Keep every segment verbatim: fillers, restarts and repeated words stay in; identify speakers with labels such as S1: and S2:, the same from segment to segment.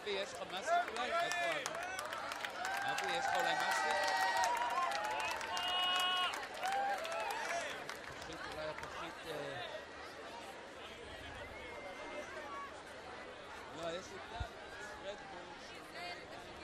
S1: אבי, יש לך מסטיק אולי? איפה אבי? אבי, יש לך אולי מסטיק? פחית, אולי הפחית... לא, יש לי כאן רדבול שאולי...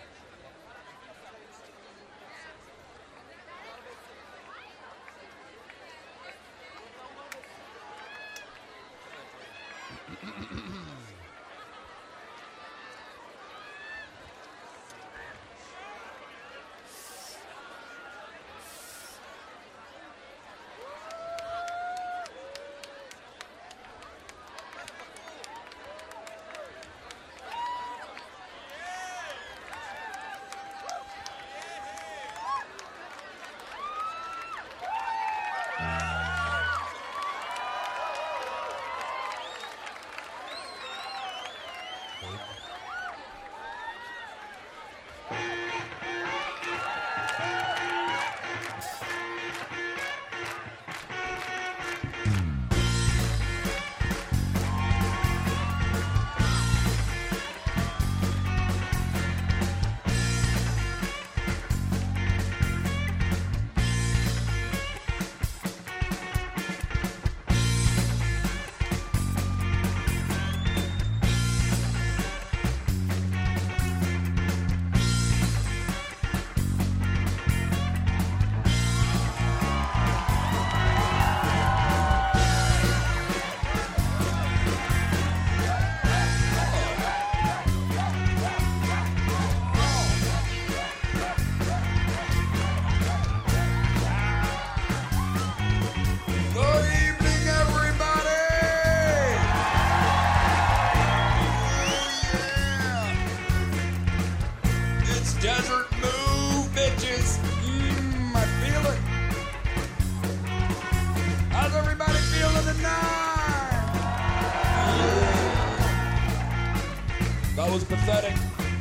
S1: That was pathetic.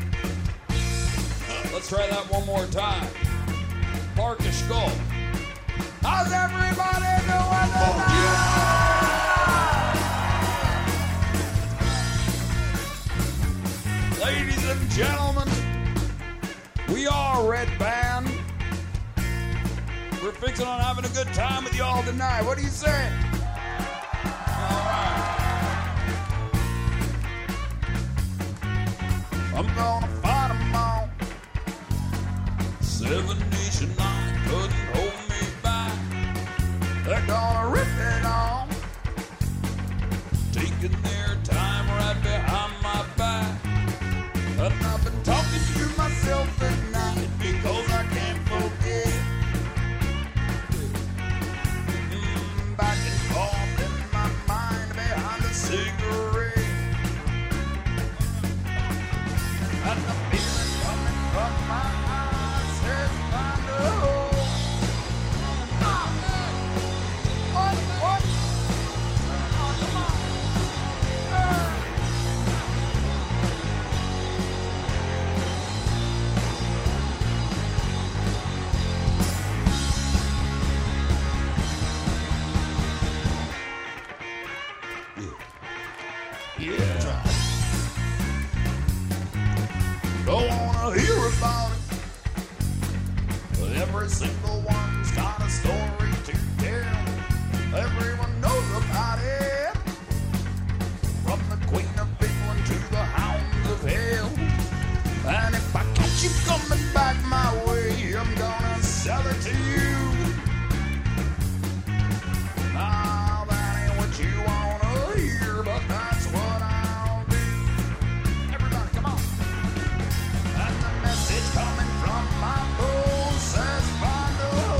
S1: Let's try that one more time. Marcus Skull. How's everybody doing tonight? Ladies and gentlemen, we are Red Band. We're fixing on having a good time with y'all tonight. What do you say? I'm gonna fight them all. Seven Nation Night couldn't hold me back. They're gonna rip it on, taking their time right behind my back. And I've been talking to myself at night because I can't forget. Mm, back and forth in my mind behind a cigarette. And the feeling coming from my eyes says find a hole. What, what? Oh, come on. Uh. Yeah. Yeah. Don't wanna hear about it, but every single one's got a story to tell. Everyone knows about it, from the Queen of England to the Hounds of Hell. And if I catch you coming back my way, I'm gonna sell it to you. Now that ain't what you wanna hear, but that's what I'll do. Everybody, come on. And the message coming from my bowl says find a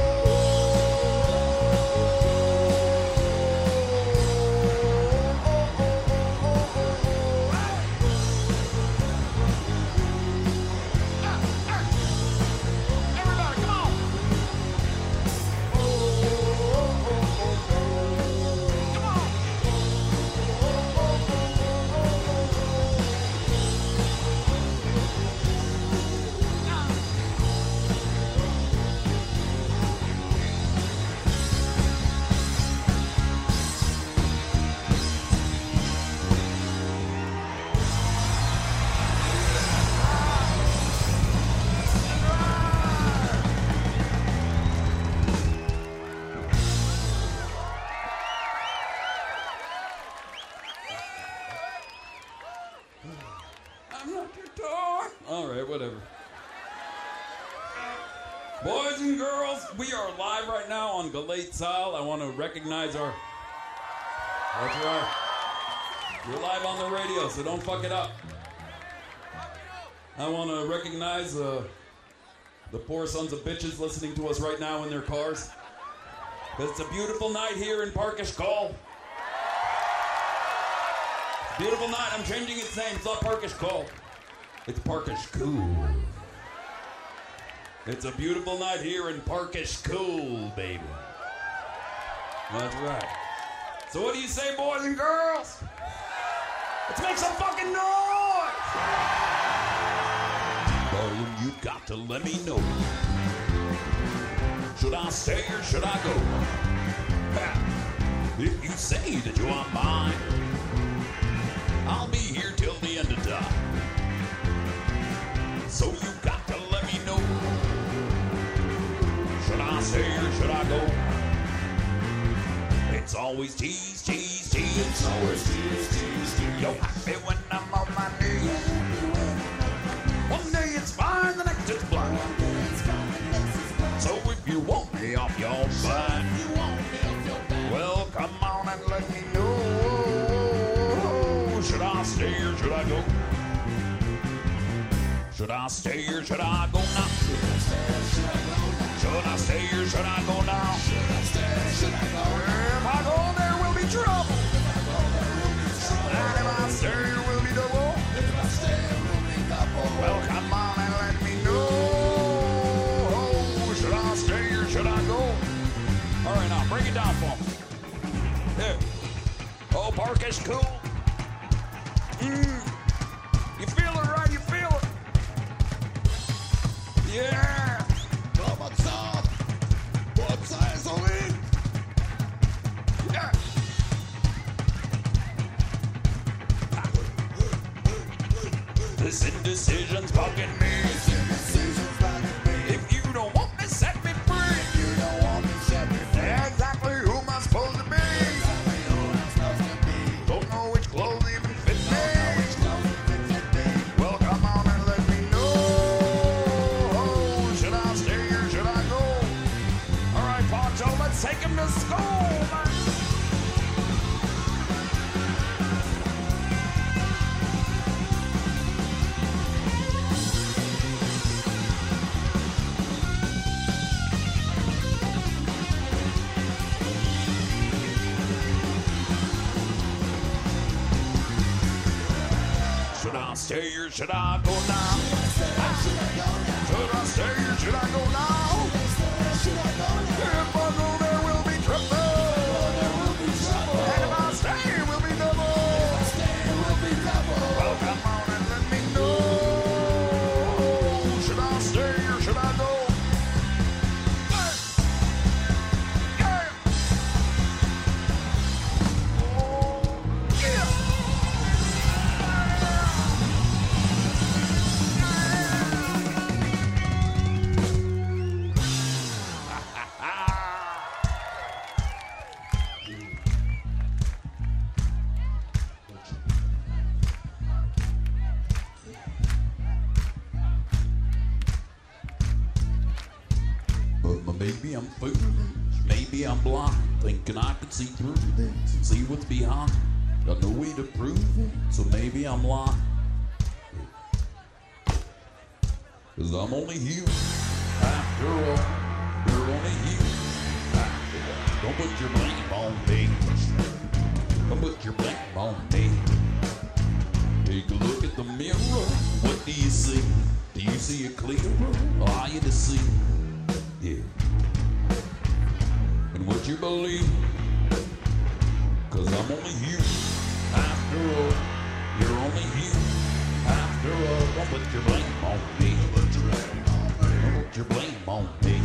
S2: we are live right now on Galate Sal. I want to recognize our... That's right. We're live on the radio, so don't fuck it up. I want to recognize uh, the poor sons of bitches listening to us right now in their cars. Because it's a beautiful night here in Parkish Call. Beautiful night. I'm changing its name. It's not Parkish Call. It's Parkish Cool. It's a beautiful night here in Parkish Cool, baby. That's right. So what do you say, boys and girls? Let's make some fucking noise! Darling, you got to let me know. Should I stay or should I go? If you say that you are mine, I'll be here till the end of time. So you got to let me know. Should I stay or should I go? It's always tease, tease, tease. It's always tease, tease, tease. You're happy when I'm on my knees. One day it's fine, the next it's blind. So if you want me off your back, well, come on and let me know. Should I stay or should I go? Should I stay or should I go now? Should I stay or should I go now? Should I stay or should I go? If I go, there will be trouble. And if I stay, there will be double. If I stay, there will be double. Well, come on and let me know. Should I stay or should I go? All right, now break it down for me. Here. Oh, Parkish Cool. Mm. You feel it, right? You feel it. Yeah. What's up? What's eyes on me? Yeah. This indecision's bugging me. This indecision's bugging me. If you don't want me, set me free. If you don't want me, set me free. Exactly who am I supposed to be? Exactly who am I supposed to be? Don't know which clothes even fit me. Don't know which clothes even fit me. Well, come on and let me know. Should I stay or should I go? All right, Poncho, let's take him to school, man. Should I stay or should I go now? Should I stay or should I go now? If I go, there will be trouble. And if I stay, it will be double. Well, come on and let me know. Should I stay or should I go? Yeah. Oh, yeah. But maybe I'm foolish, maybe I'm blind, thinking I can see through this and see what's behind. Got no way to prove it, so maybe I'm lying. Cause I'm only human, after all. You're only human, after all. Don't put your blame on me. Don't put your blame on me. Take a look at the mirror, what do you see? Do you see it clearer, or are you deceived? Yeah. And what you believe, cause I'm only human, after all. You're only human, after all. Don't put your blame on me. Don't put your blame on me.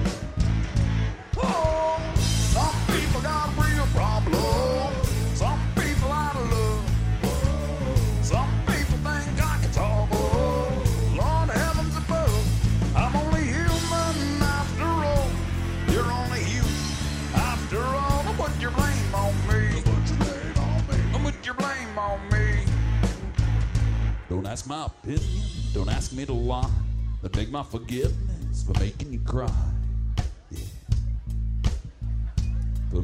S2: Oh, some people got real problems. Some people out of love. Some people think I can talk. Lord heavens above, I'm only human after all. You're only human after all. Don't put your blame on me. Don't put your blame on me. Don't put your blame on me. Don't ask my opinion. Don't ask me to lie. But beg my forgiveness for making you cry. Yeah.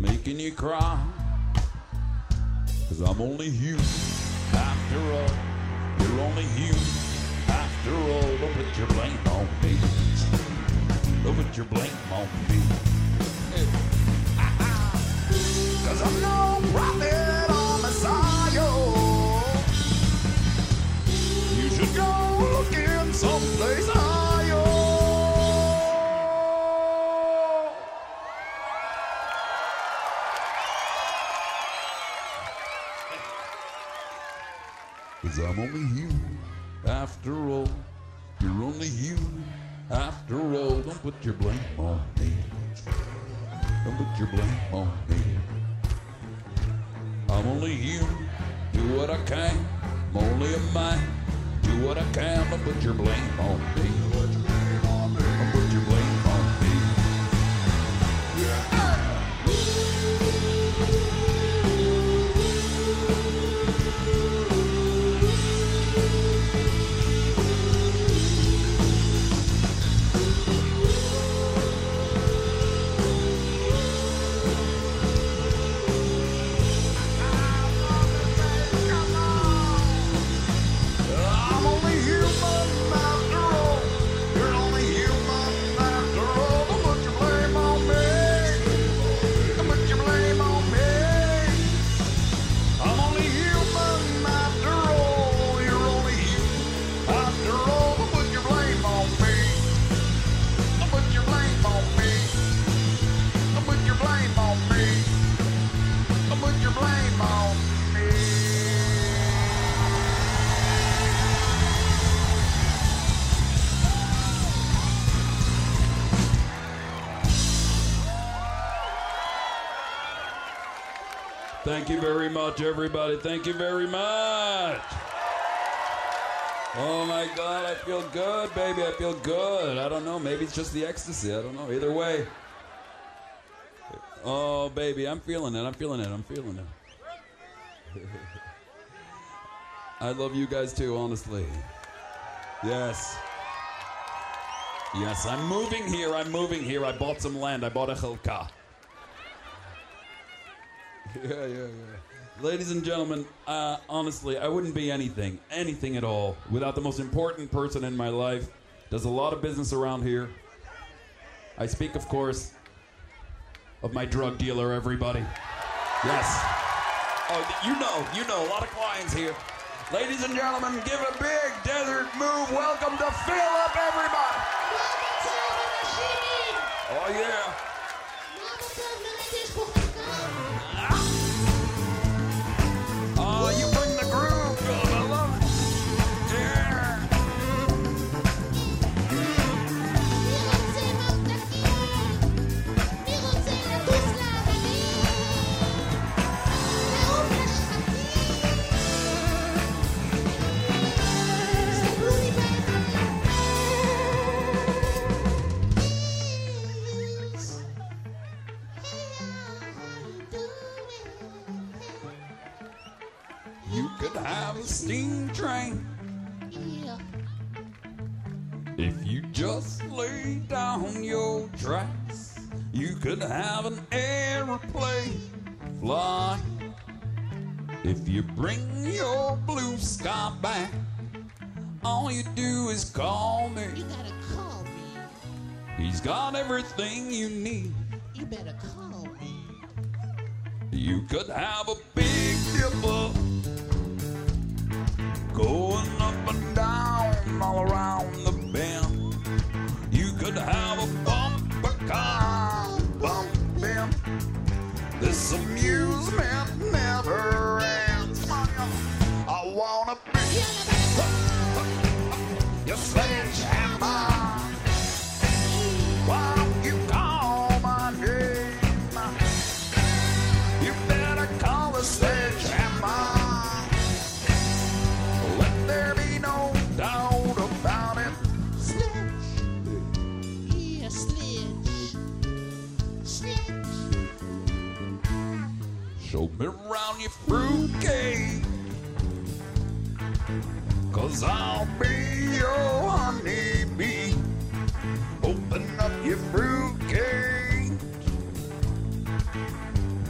S1: making you cry. Cause I'm only human after all. You're only human after all. Don't put your blame on me. Don't put your blame on me. Cause I'm no prophet or Messiah. You should go looking someplace higher. Cause I'm only human after all. You're only human after all. Don't put your blame on me. Don't put your blame on me. I'm only human. Do what I can. I'm only a man. Do what I can. Don't put your blame on me. Don't put your blame on me. Yeah. Thank you very much, everybody. Thank you very much. Oh, my God, I feel good, baby. I feel good. I don't know. Maybe it's just the ecstasy. I don't know. Either way. Oh, baby, I'm feeling it. I'm feeling it. I'm feeling it. I love you guys, too, honestly. Yes. Yes, I'm moving here. I'm moving here. I bought some land. I bought a chelka. Yeah, yeah, yeah. Ladies and gentlemen, uh, honestly, I wouldn't be anything, anything at all, without the most important person in my life. Does a lot of business around here. I speak, of course, of my drug dealer, everybody. Yes. Oh, you know, you know, a lot of clients here. Ladies and gentlemen, give a big desert move. Welcome to Fill Up, everybody. Oh, yeah. Oh, you bring the groove, God. I love it. Yeah. You could have a steam train.
S3: Yeah.
S1: If you just lay down your tracks, you could have an airplane fly. If you bring your blue sky back, all you do is call me.
S3: You gotta call me.
S1: He's got everything you need.
S3: You better call me.
S1: You could have a big dipper going up and down all around the bend. You could have a bumper car bumping. This amusement never ends. Come on, y'all. I wanna be your sledgehammer. Why don't you call my name? You better call the sledgehammer. Let there be no doubt about it.
S3: Sledge. Yeah, sledge. Sledge.
S1: Show me around your fruitcake, 'cause I'll be your honeybee. Open up your fruitcake.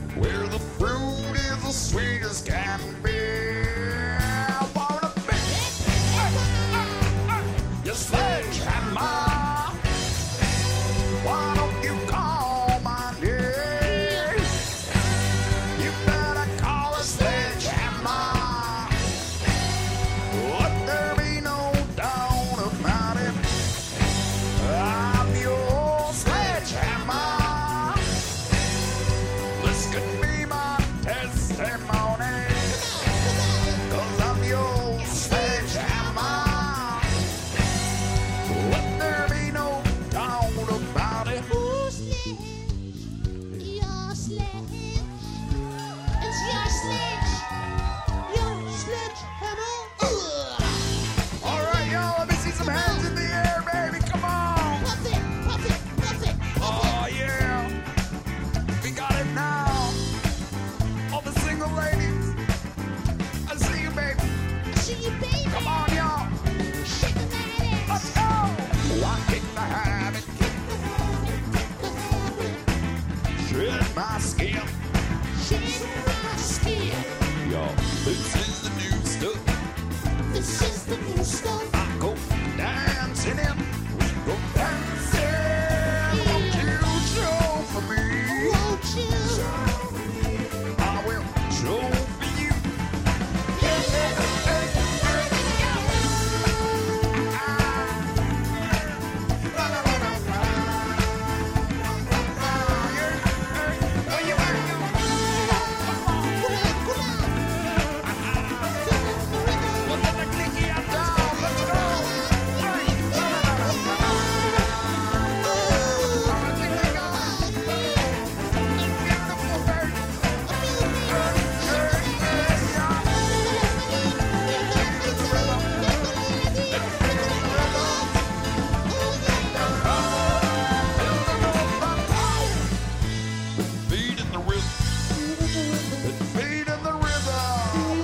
S1: my skin.
S3: Shed my skin.
S1: Yo, this is the new stuff.
S3: This is the new stuff.
S1: I go dancing in. We go dancing. Won't you show for me?
S3: Won't you?
S1: I will show for you. Beat in the rhythm. Beat in the rhythm.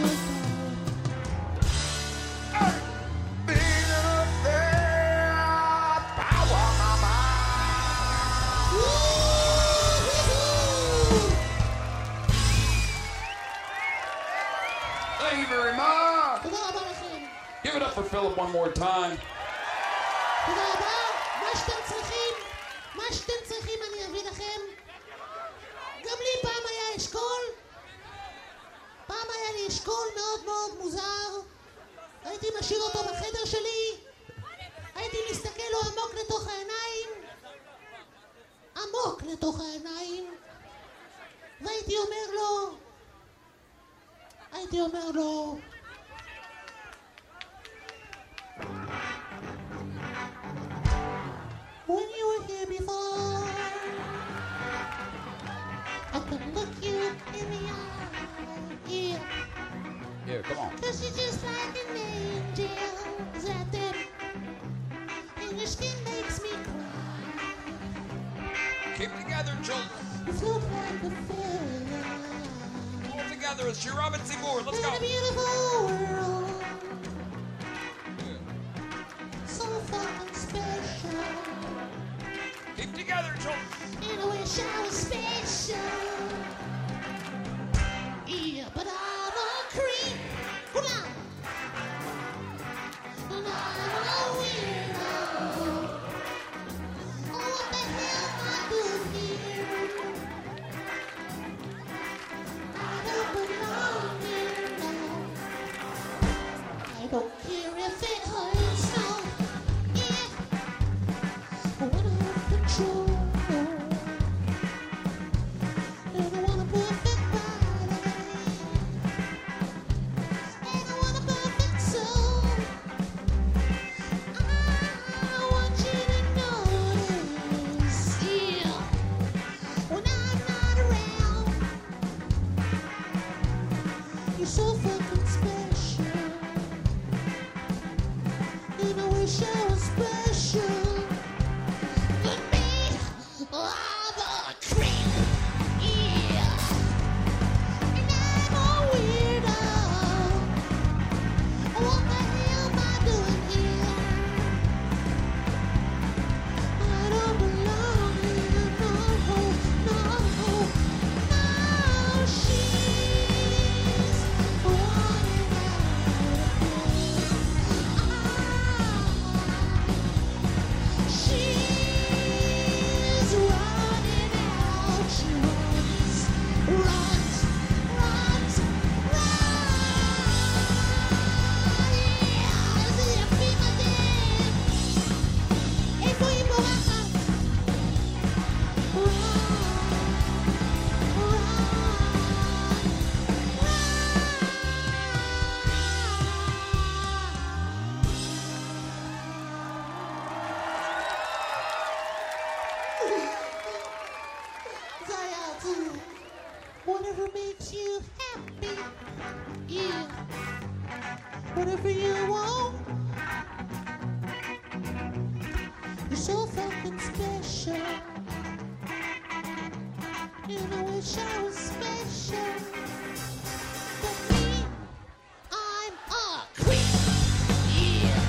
S1: Beat up that power, mama. Thank you very much.
S3: תודה רבה לכם.
S1: Give it up for Philip one more time.
S3: תודה רבה. מה שאתם צריכים, מה שאתם צריכים אני אביא לכם. גם לי פעם היה אשכול. פעם היה לי אשכול מאוד מאוד מוזר. הייתי משאיר אותו בחדר שלי. הייתי מסתכל לו עמוק לתוך העיניים. עמוק לתוך העיניים. והייתי אומר לו, הייתי אומר לו, when you were here before, I could look you in the eye, yeah,
S1: Here, come on.
S3: cause you're just like an angel, is that them? And your skin makes me cry,
S1: Keep together, children.
S3: you float like a feather,
S1: All together. It's your Robin Seymour. Let's
S3: in
S1: go.
S3: a beautiful world, so fucking special,
S1: Keep together, children.
S3: and I wish I was special, yeah, but I'm a creep, hold on, and I'm a weirdo, oh what the hell am I doing here, I don't belong here now, I don't care if it hurts, no, yeah, I wanna have control, and I want a perfect body, and I want a perfect soul. I want you to notice, yeah, when I'm not around, you're so fucking special, and I wish I was special. But me, I'm a creep, yeah, and I'm a weirdo. What the hell am I doing here? I don't belong here, no, no, no. She's running out of me. She's running out. She runs, runs, runs, runs. C'est la prime d'elle. Et puis pour un run, run, Zayatu, whatever makes you happy, yeah, whatever you want, you're so fucking special, and I wish I was special, but me, I'm a creep, yeah,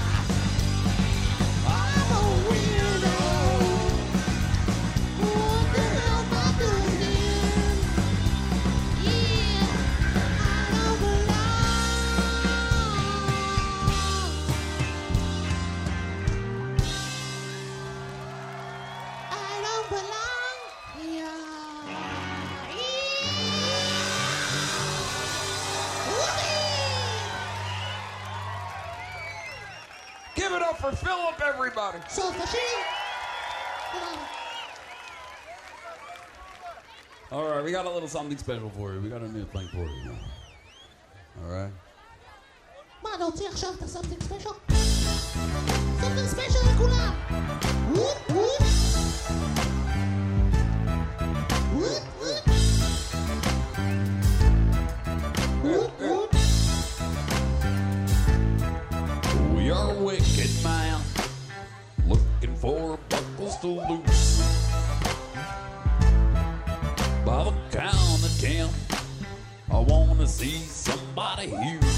S3: I'm a weirdo. What the hell am I doing here?
S2: for Philip, everybody.
S3: So for sure.
S1: All right, we got a little something special for you. We got a new thing for you. All right.
S3: מה, להוציא עכשיו את something special? something special לכולם! וופ וופ! וופ וופ! וופ וופ!
S1: We are a wicked man, looking for buckles to loose. By the count of ten, I wanna see somebody here.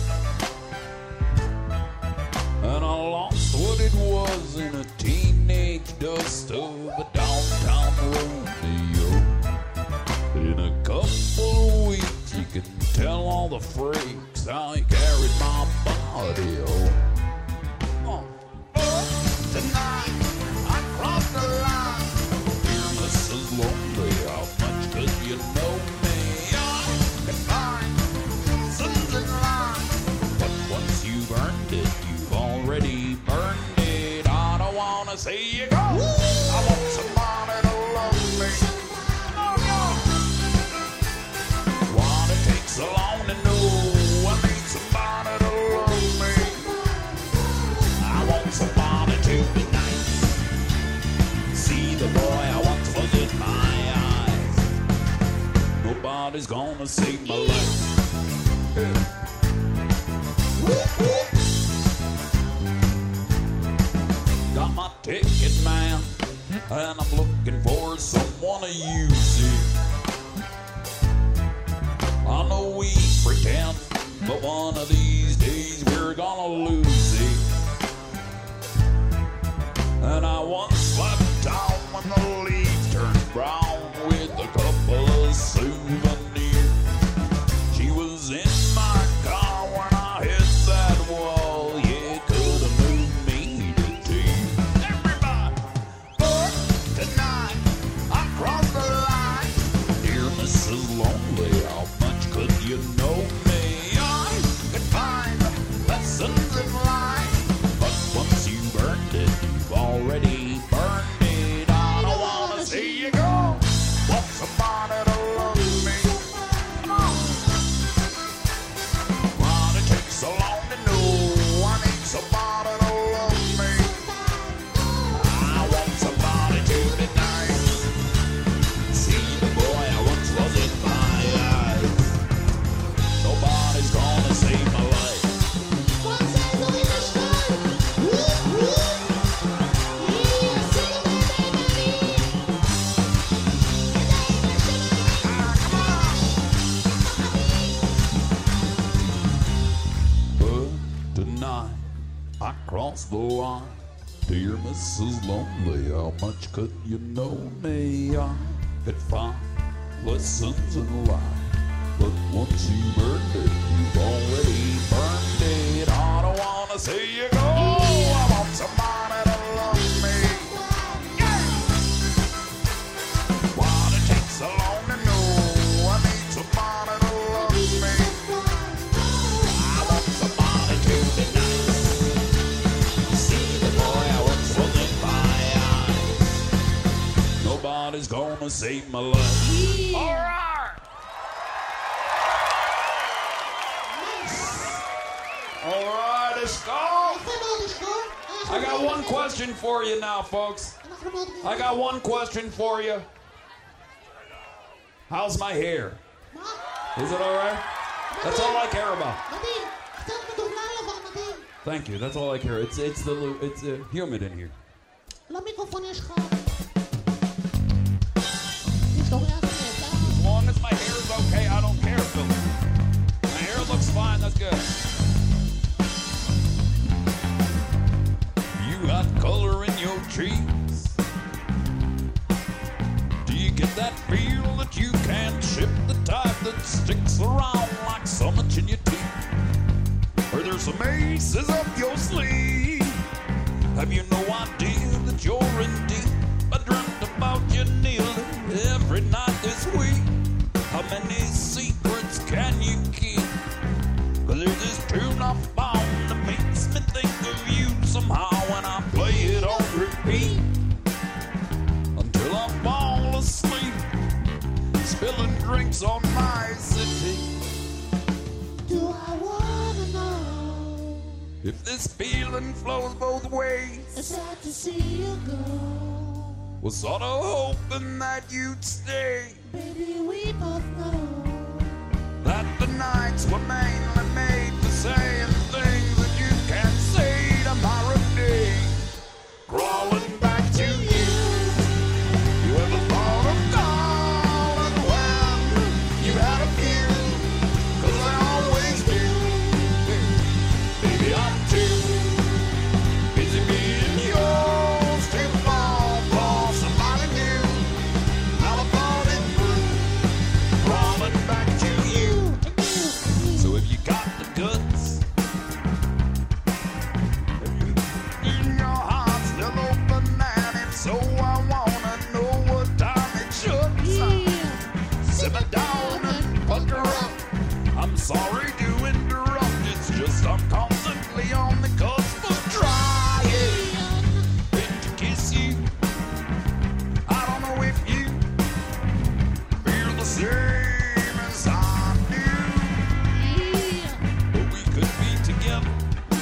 S1: And I lost what it was in a teenage dust of a downtown rodeo. In a couple of weeks, you can tell all the freaks how he carried my body. Oh, oh.
S2: Tonight, I crossed the line.
S1: Dear Missus Lonely, how much could you know me?
S2: I could find sins in line.
S1: But once you've earned it, you've already burned it. I don't wanna see you go.
S2: I want somebody to love me. Oh, no.
S1: What it takes so long to know.
S2: I need somebody to love me.
S1: I want somebody to be nice. See the boy I once was in my eyes. Nobody's gonna save my life. Got my ticket, man, and I'm looking for someone to use it. I know we pretend, but one of these days we're gonna lose it. And I once slept down when the leaves turned brown with a couple of souvenirs. She was in my car when I hit that wall. Yeah, could have moved me to tears. Everybody!
S2: But tonight, I crossed the line.
S1: Dear Missus Lonely, how much could you know me?
S2: I could find lessons in life.
S1: But once you've earned it, you've already burned it. I don't wanna see you go.
S2: Want somebody to love me. Come on.
S1: What it takes so long to know.
S2: I need somebody to love me.
S1: I want somebody to be nice. See the boy I once was in my eyes. Nobody's gonna save my life.
S3: What's that so in the sky? Whoop whoop! Yeah, sing it, baby!
S1: But tonight I crossed the line. Dear Missus Lonely, how much could you know me? I could find lessons in life. But once you've earned it, you've already burned it. I don't wanna see you go.
S2: I want somebody to love me.
S1: What it takes so long to know.
S2: I need somebody to love me.
S1: I want somebody to be nice. See the boy I once was in my eyes. Nobody's gonna save my life.
S2: All right. All right, let's go.
S3: יפה מאוד לשקול. אנחנו
S1: I got
S3: מאוד
S1: one
S3: יפה.
S1: question for you now, folks.
S3: אנחנו מאוד
S1: I got one question for you. How's my hair?
S3: מה?
S1: Is it all right? That's all I care about.
S3: מדהים. קצת מדובלל אבל מדהים.
S1: Thank you. That's all I care. It's it's the lu- it's uh, humid in here.
S3: למיקרופון יש לך... יש לו ריח נהדר.
S1: As long as my hair is okay, I don't care, Philip. My hair looks fine. That's good. You got color in your cheeks. Do you get that feel that you can't ship the type that sticks around like so much in your teeth? Or there's some aces up your sleeve? Have you no idea that you're in deep? I dreamt about you kneeling every night this week. How many secrets can you keep? 'Cause there's this tune I found that makes me think of you somehow. spilling drinks on my city.
S3: Do I wanna know
S1: If this feeling flows both ways,
S3: it's sad to see you go.
S1: was sort of hoping that you'd stay.
S3: Baby, we both know
S1: That the nights were mainly made for saying things that you can't say tomorrow day. Crawling back to you. You ever thought of calling when you had a few? 'Cause I always do. Baby, I'm too busy being yours to fall for somebody new. Now I thought it through. Crawling back to you. So if you got the guts, in your heart still open, and if so, I wanna know what time it should. Simmer down and pucker up. I'm sorry to interrupt, it's just I'm constantly on the cusp of trying. Been to kiss you. I don't know if you feel the same as I do, but we could be together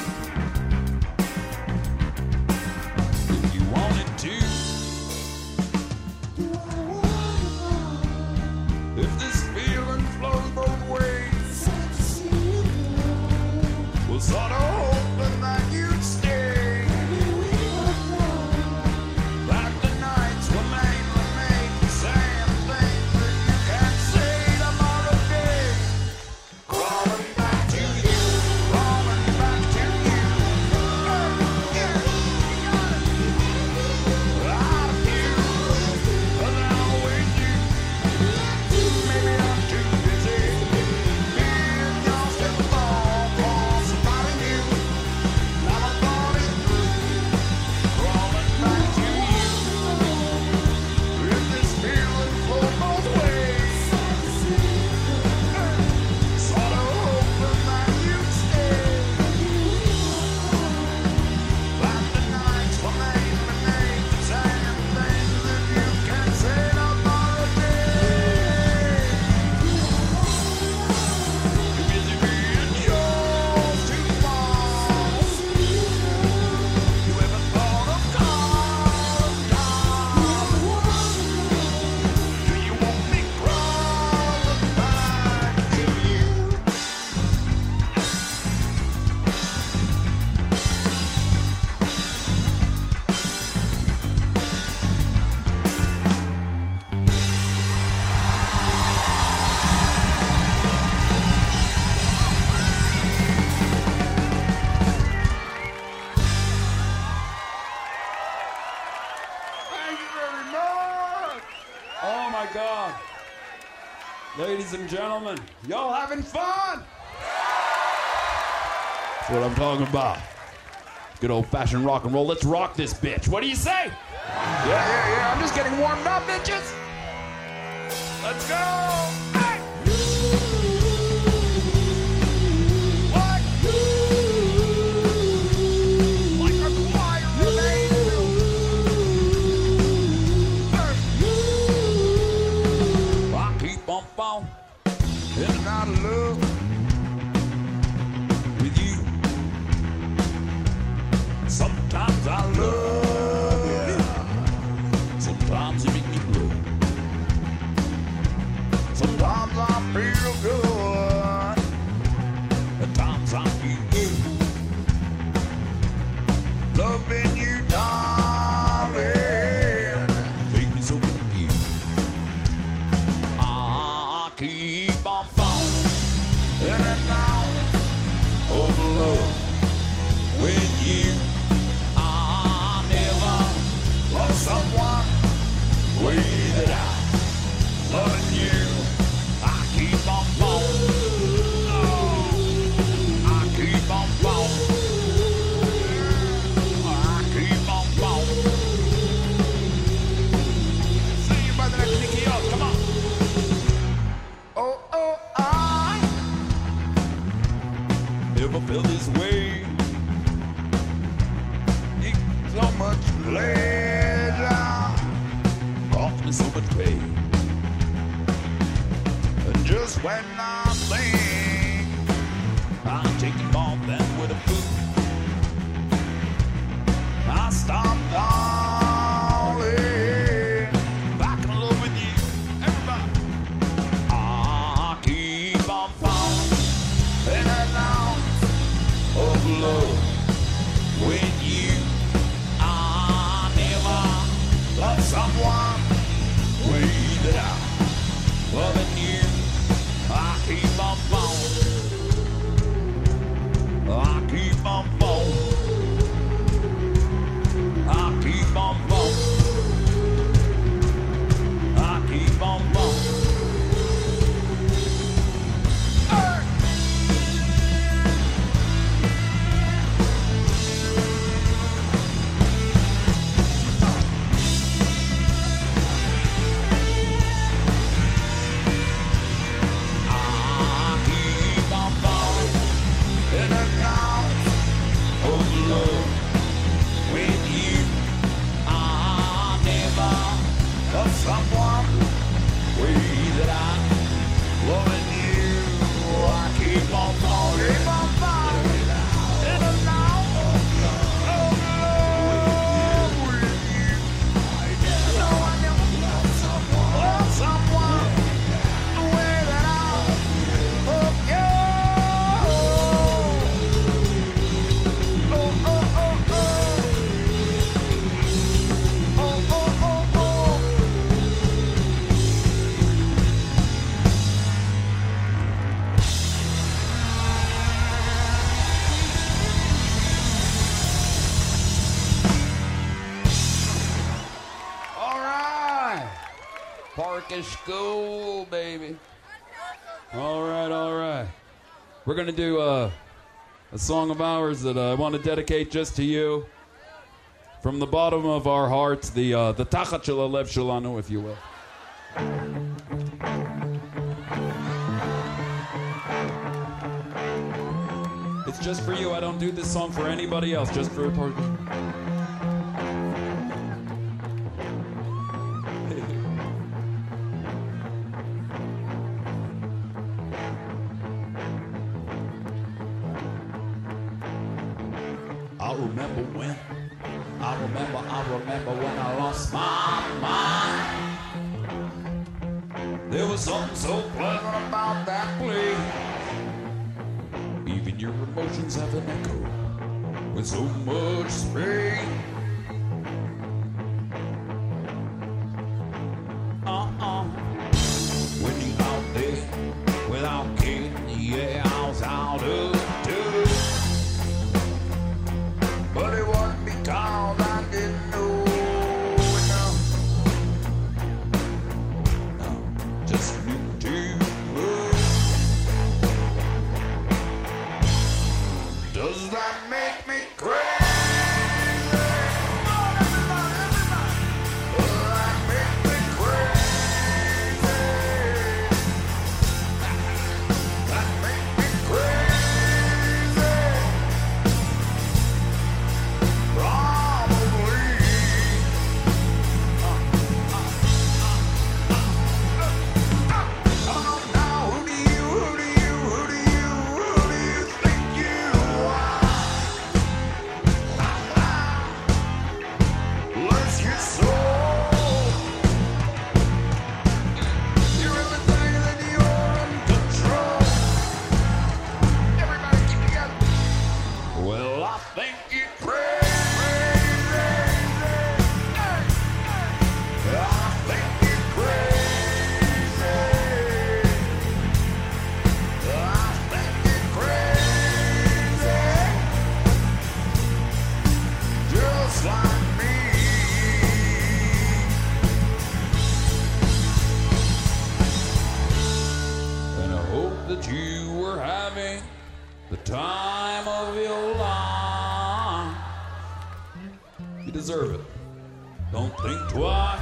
S1: if you wanted to.
S3: Do I wanna know
S1: If this feeling flows both ways,
S3: it's sad to see you go.
S1: was sort of hoping that you'd stay.
S3: Baby, we both know
S1: That the nights were mainly made for saying things that you can't say tomorrow day. Crawling back to you, crawling back to you. Out of you, 'cause I always do. Maybe I'm too busy being yours to fall for somebody new. Now I thought it through, crawling back to you. If this feeling flows both ways, sort of hoping that you'd stay. That the nights were mainly made for saying things that you can't say tomorrow day. Too busy being yours to fall. You ever thought of calling down? Do you want me crawling back to you? Thank you very much. Oh my God. Ladies and gentlemen, y'all having fun? That's what I'm talking about. Good old fashioned rock and roll. Let's rock this bitch. What do you say? Yeah, yeah, yeah. I'm just getting warmed up, bitches. Let's go. Hey. What? Like a choir of angels. I keep on falling in and out of love with you. Sometimes I love you. Sometimes you make me blue. Sometimes I feel good. At times I feel you. Loving you, darling, make me so confused. I keep on falling in and out of love with you. I never love someone the way that I love you. I keep on falling. Oh, I keep on falling. I keep on falling. See you by the next Nicky Up. Come on. Oh, oh, I never felt this way. It's so much pleasure, cost me so much pain. just when I think I'm taking more than with a fool, I stop falling back in love with you, everybody. I keep on falling in and out of love with you. I never love someone way that I'm loving you. I keep on falling. I keep on falling. I keep on falling. I keep on falling. Hey! I keep on falling in and out of love with you. I never love someone way that I'm loving you. I keep on falling, keep on falling in and out of love with you. No, I never love someone, love someone the way that I love you. Oh, oh, oh, oh. Oh, oh, oh, oh. All right. Parkish School, baby.
S4: All right, all right. We're going to do uh, a song of ours that uh, I want to dedicate just to you. From the bottom of our hearts, the uh, the Tachat Shel Halev Shelanu, if you will. It's just for you. I don't do this song for anybody else, just for a part.
S1: I remember when, I remember, I remember when I lost my mind. There was something so pleasant about that place. Even your emotions have an echo with so much space. Uh-uh. When you out there without care, yeah, I was out of touch. But it wasn't because I didn't know enough. No, just knew too much. Does that make me crazy? Come on, everybody, everybody. Does that make me crazy? That make me crazy. Probably. Come on now, who do you, who do you, who do you, who do you think you are? Let's get sold. You really think that you're in control? Everybody keep together. Well, I think you're crazy. I think you're crazy. I think you're crazy. Just like me.
S4: And I hope that you were having the time of your life. You deserve it. Don't think twice.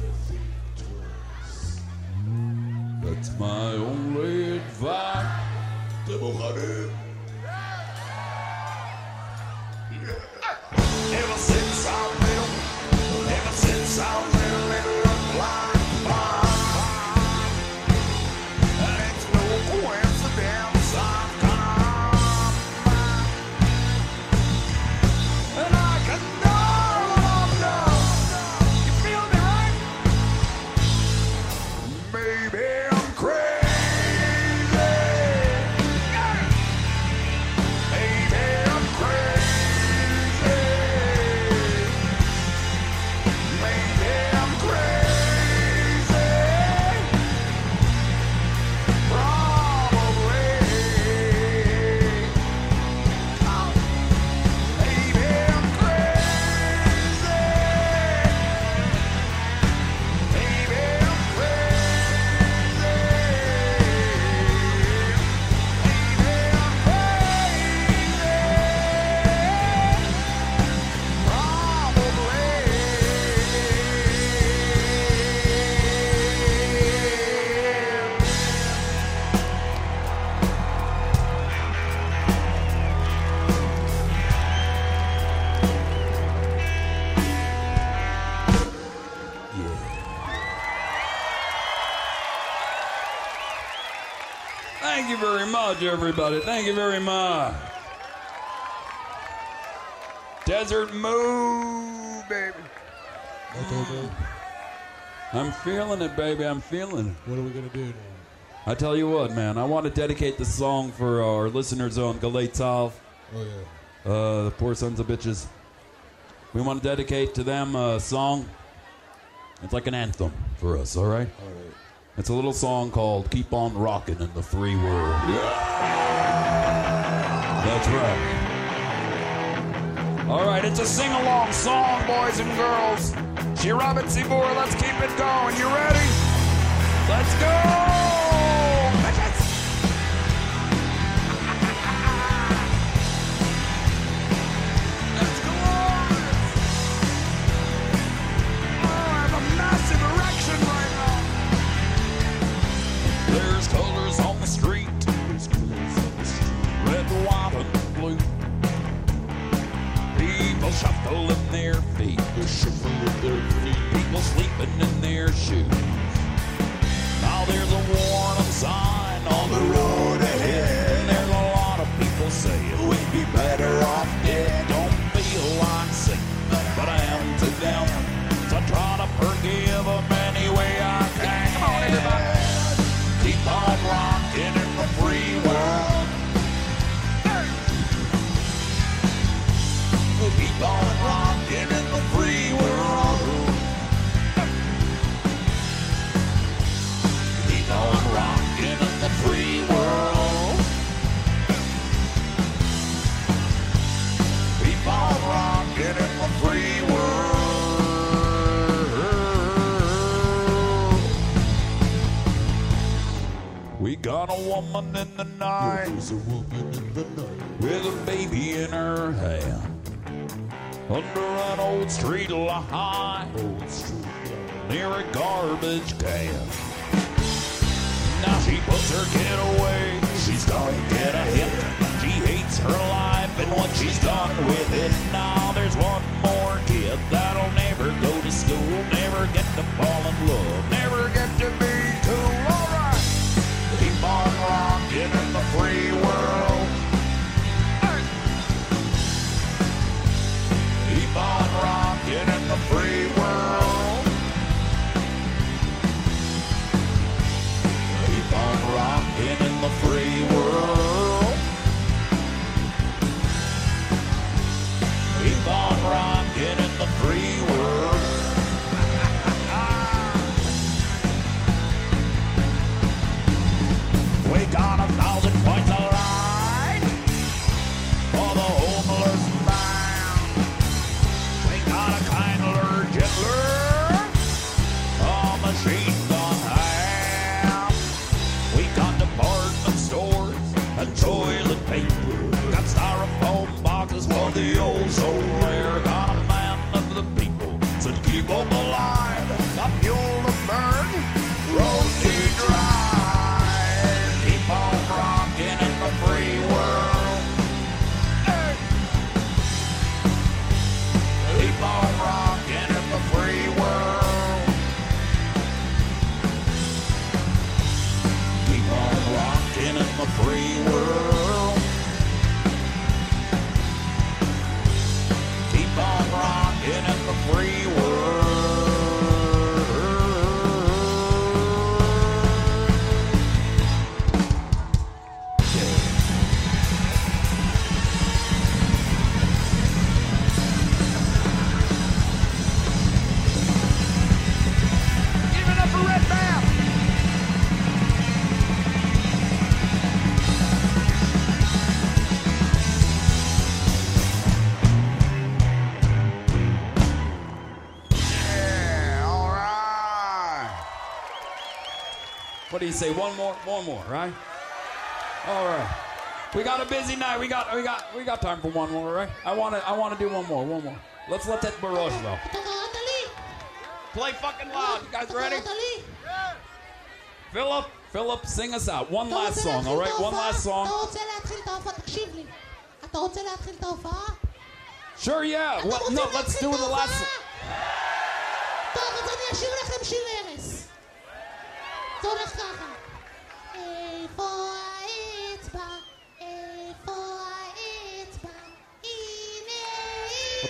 S4: That's my only advice.
S1: Ever since I met him, ever since I met him, it looked like fun. And it's no
S4: Thank you very much, everybody. Thank you very much. Desert Moo, baby. I'm feeling it, baby. I'm feeling it.
S5: What are we going to do now?
S4: I tell you what, man. I want to dedicate this song for our listeners on Galay Tal.
S5: Oh, yeah.
S4: Uh, the poor sons of bitches. We want to dedicate to them a song. It's like an anthem for us, all right?
S5: All right.
S4: It's a little song called Keep On Rockin' in the Free World. That's right. All right, it's a sing-along song, boys and girls. She Robert Seymour, let's keep it going. You ready? Let's go! There's colors on the street, red, white, and blue. People shuffling their feet, people sleeping in their shoes. Now there's a warning sign on the road ahead. There's a lot of people saying we'd be better off dead. Don't feel like singing, but I am to them. So I try to forgive them any way I can. Come on, everybody. Keep on rocking in the free world. Keep on rocking in the free world. Keep on rocking in the free world. Keep on rocking in the free world. We got a woman in the night,
S5: There's a woman in the night
S4: with a baby in her hand, under an old street light,
S5: old street light.
S4: near a garbage can. Now she puts her kid away, she's gonna get a hit. She hates her life and what she's done with it. Now there's one more kid that'll never go to school, never get to fall in love, never get to be cool. Alright, keep on rocking in the free world. Keep on rocking in the free world. Keep on rocking in the free world. Keep on rocking in the free world. We got a thousand points alright for the homeless man. We got a kindler, gentler, a machine gun hand. We got department stores and toilet paper. Got styrofoam boxes for the old soul rare. Got a man of the people, said keep them alive. Got fuel to burn, roads to drive. Keep on rocking in the free world. Hey. Keep on rocking in the free world. Keep on rocking in the free world. Keep on rocking in the free world. Give it up for Red Bam! Yeah, all right. What do you say? One more, one more, right? All right. We got a busy night. We got, we got, we got time for one more, right? I want to, I want to do one more, one more. Let's let that barrage though.
S3: אתה קראת לי?
S4: Play fucking loud. You guys
S3: אתה
S4: ready?
S3: קראת לי?
S4: Philip, Philip, sing us out. One
S3: אתה
S4: last
S3: רוצה
S4: song,
S3: להתחיל
S4: all
S3: את
S4: right? One
S3: ההופעה?
S4: last song.
S3: אתה רוצה להתחיל את ההופעה? תקשיב לי. אתה רוצה להתחיל את ההופעה?
S4: Sure, yeah.
S3: אתה
S4: Well,
S3: רוצה
S4: no,
S3: להתחיל
S4: let's
S3: את
S4: do the
S3: ההופעה?
S4: last.
S3: טוב, אז אני אשאיר לכם שיר ערש. זה הולך ככה. איפה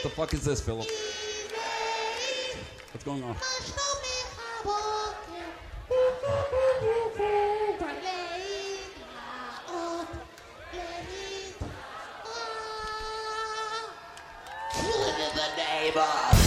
S4: the fuck is this, Philip? What's going on?
S3: Killing in the name of.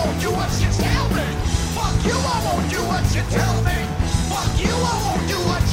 S2: You, I won't do what you tell me. Fuck you, I won't do what you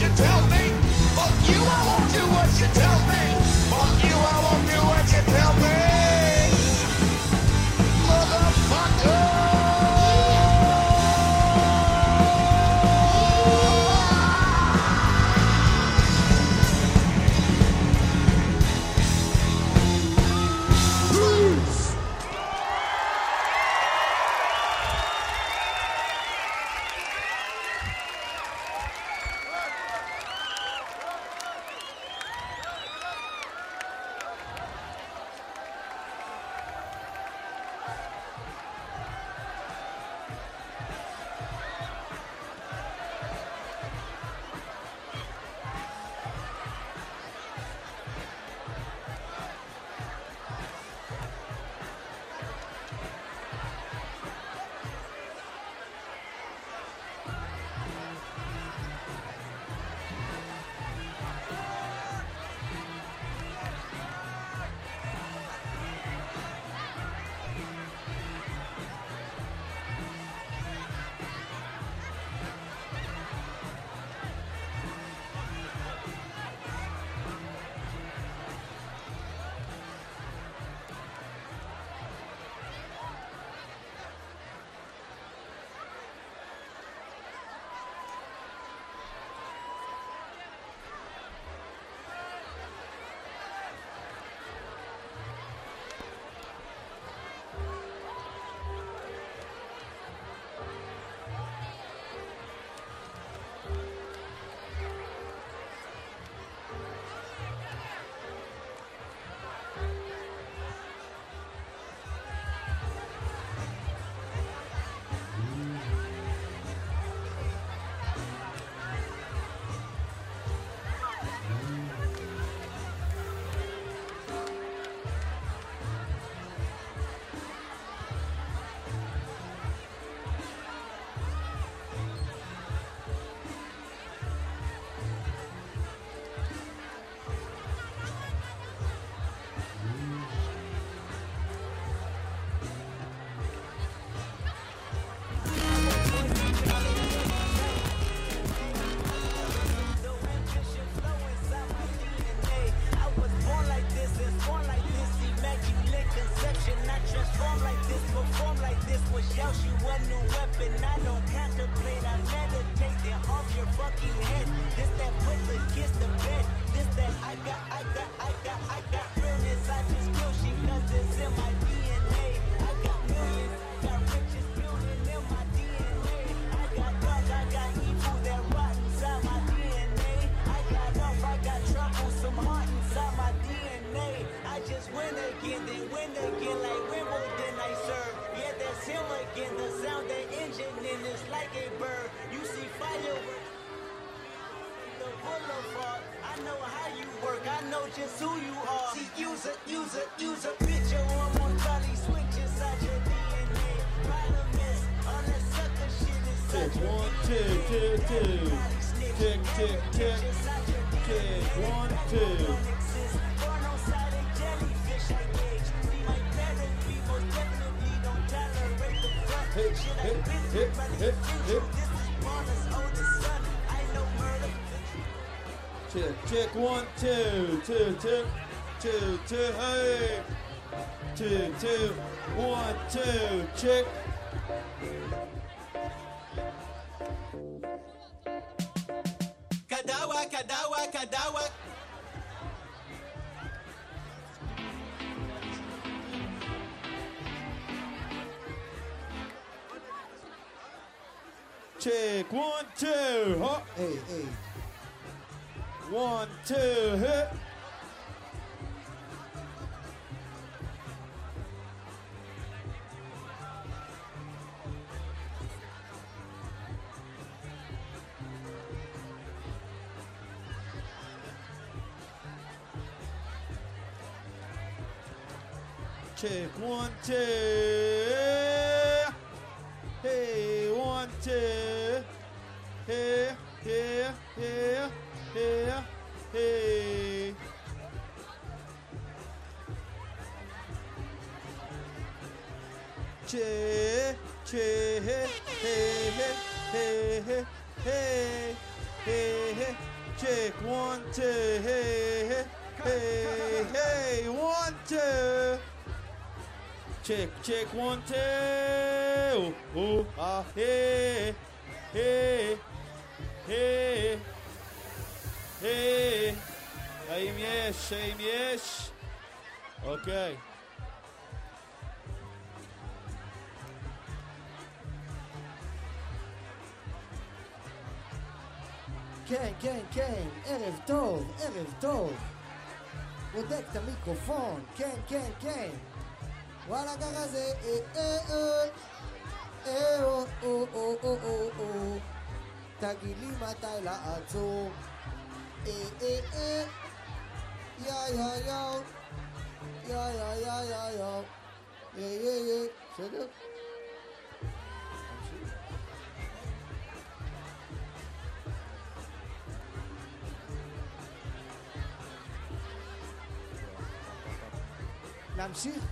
S6: and I don't contemplate. I meditate, then off your fucking head. This that put the kiss to bed. This that I got, I got, I got, I got realness. I just kill shit cause it's in my D N A. I got millions, got riches building in my D N A. I got dark, I got evil that rot inside my D N A. I got off, I got trouble, some heart inside my D N A. I just win again, then win again like Wimbledon I serve. Yeah, that's him again, the sound, the engine in is like a bird. You see fireworks, the boulevard. I know how you work, I know just who you are. See, use a, use a, use a picture on one body, switch inside your D N A. Problem is, all that sucker shit is such
S5: Tick
S6: a
S5: one,
S6: D N A.
S5: tick, tick, tick. Tick, tick, tick. Tick one, two.
S6: Born on side of jellyfish, I gauge. See, my parents, we most definitely don't tolerate the front.
S5: Hey,
S6: Shit,
S5: hey,
S6: I've been
S5: hey,
S6: through, but
S5: hey,
S6: it's
S5: hey.
S6: true. This is Bonner's oldest son. I know murder.
S5: Tick, tick one, two, two, tick, two, two, hey. Two, two, one, two, tick.
S6: Kadawa, kadawa, kadawa.
S5: Tick one, two, huh?
S7: Hey, hey.
S5: One, two, hit. Check one, two. Hey, one, two. Hey, here, here, here, hey. Che, che, hey, hey, hey, hey, hey, hey, hey, hey. Check one, two, hey, hey, hey, hey, one, two. Check, check, one, two. Oh, oh, ah, hey, hey, hey, hey. האם יש? האם יש? אוקיי.
S7: כן, כן, כן, ערב טוב, ערב טוב. בודק את המיקרופון, כן, כן, כן. וואלה ככה זה, אה, אה, אה, אה, או, או, או, או, או, או. תגיד לי מתי לעצור. אה, אה, אה. יא, יא, יא. יא, יא, יא, יא, יא. יא, יא, יא. בסדר? להמשיך?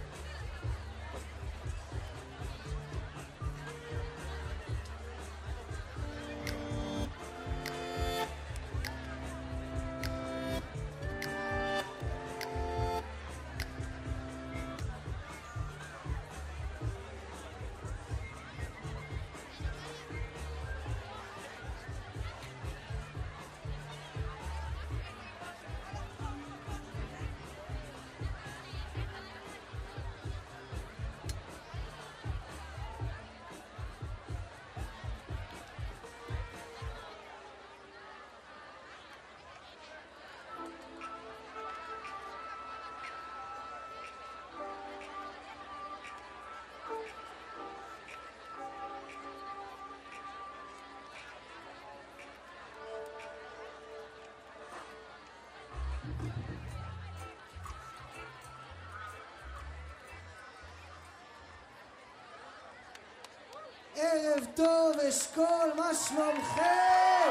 S7: ערב טוב, אשכול, מה שלומכם?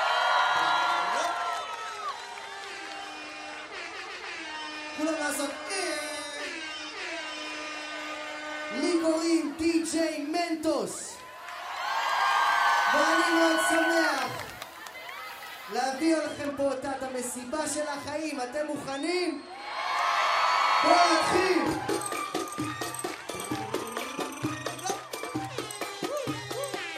S7: כולם לעשות לי קוראים די-ג'יי מנטוס ואני מאוד שמח להביא לכם פה את המסיבה של החיים. אתם מוכנים? בואו נתחיל.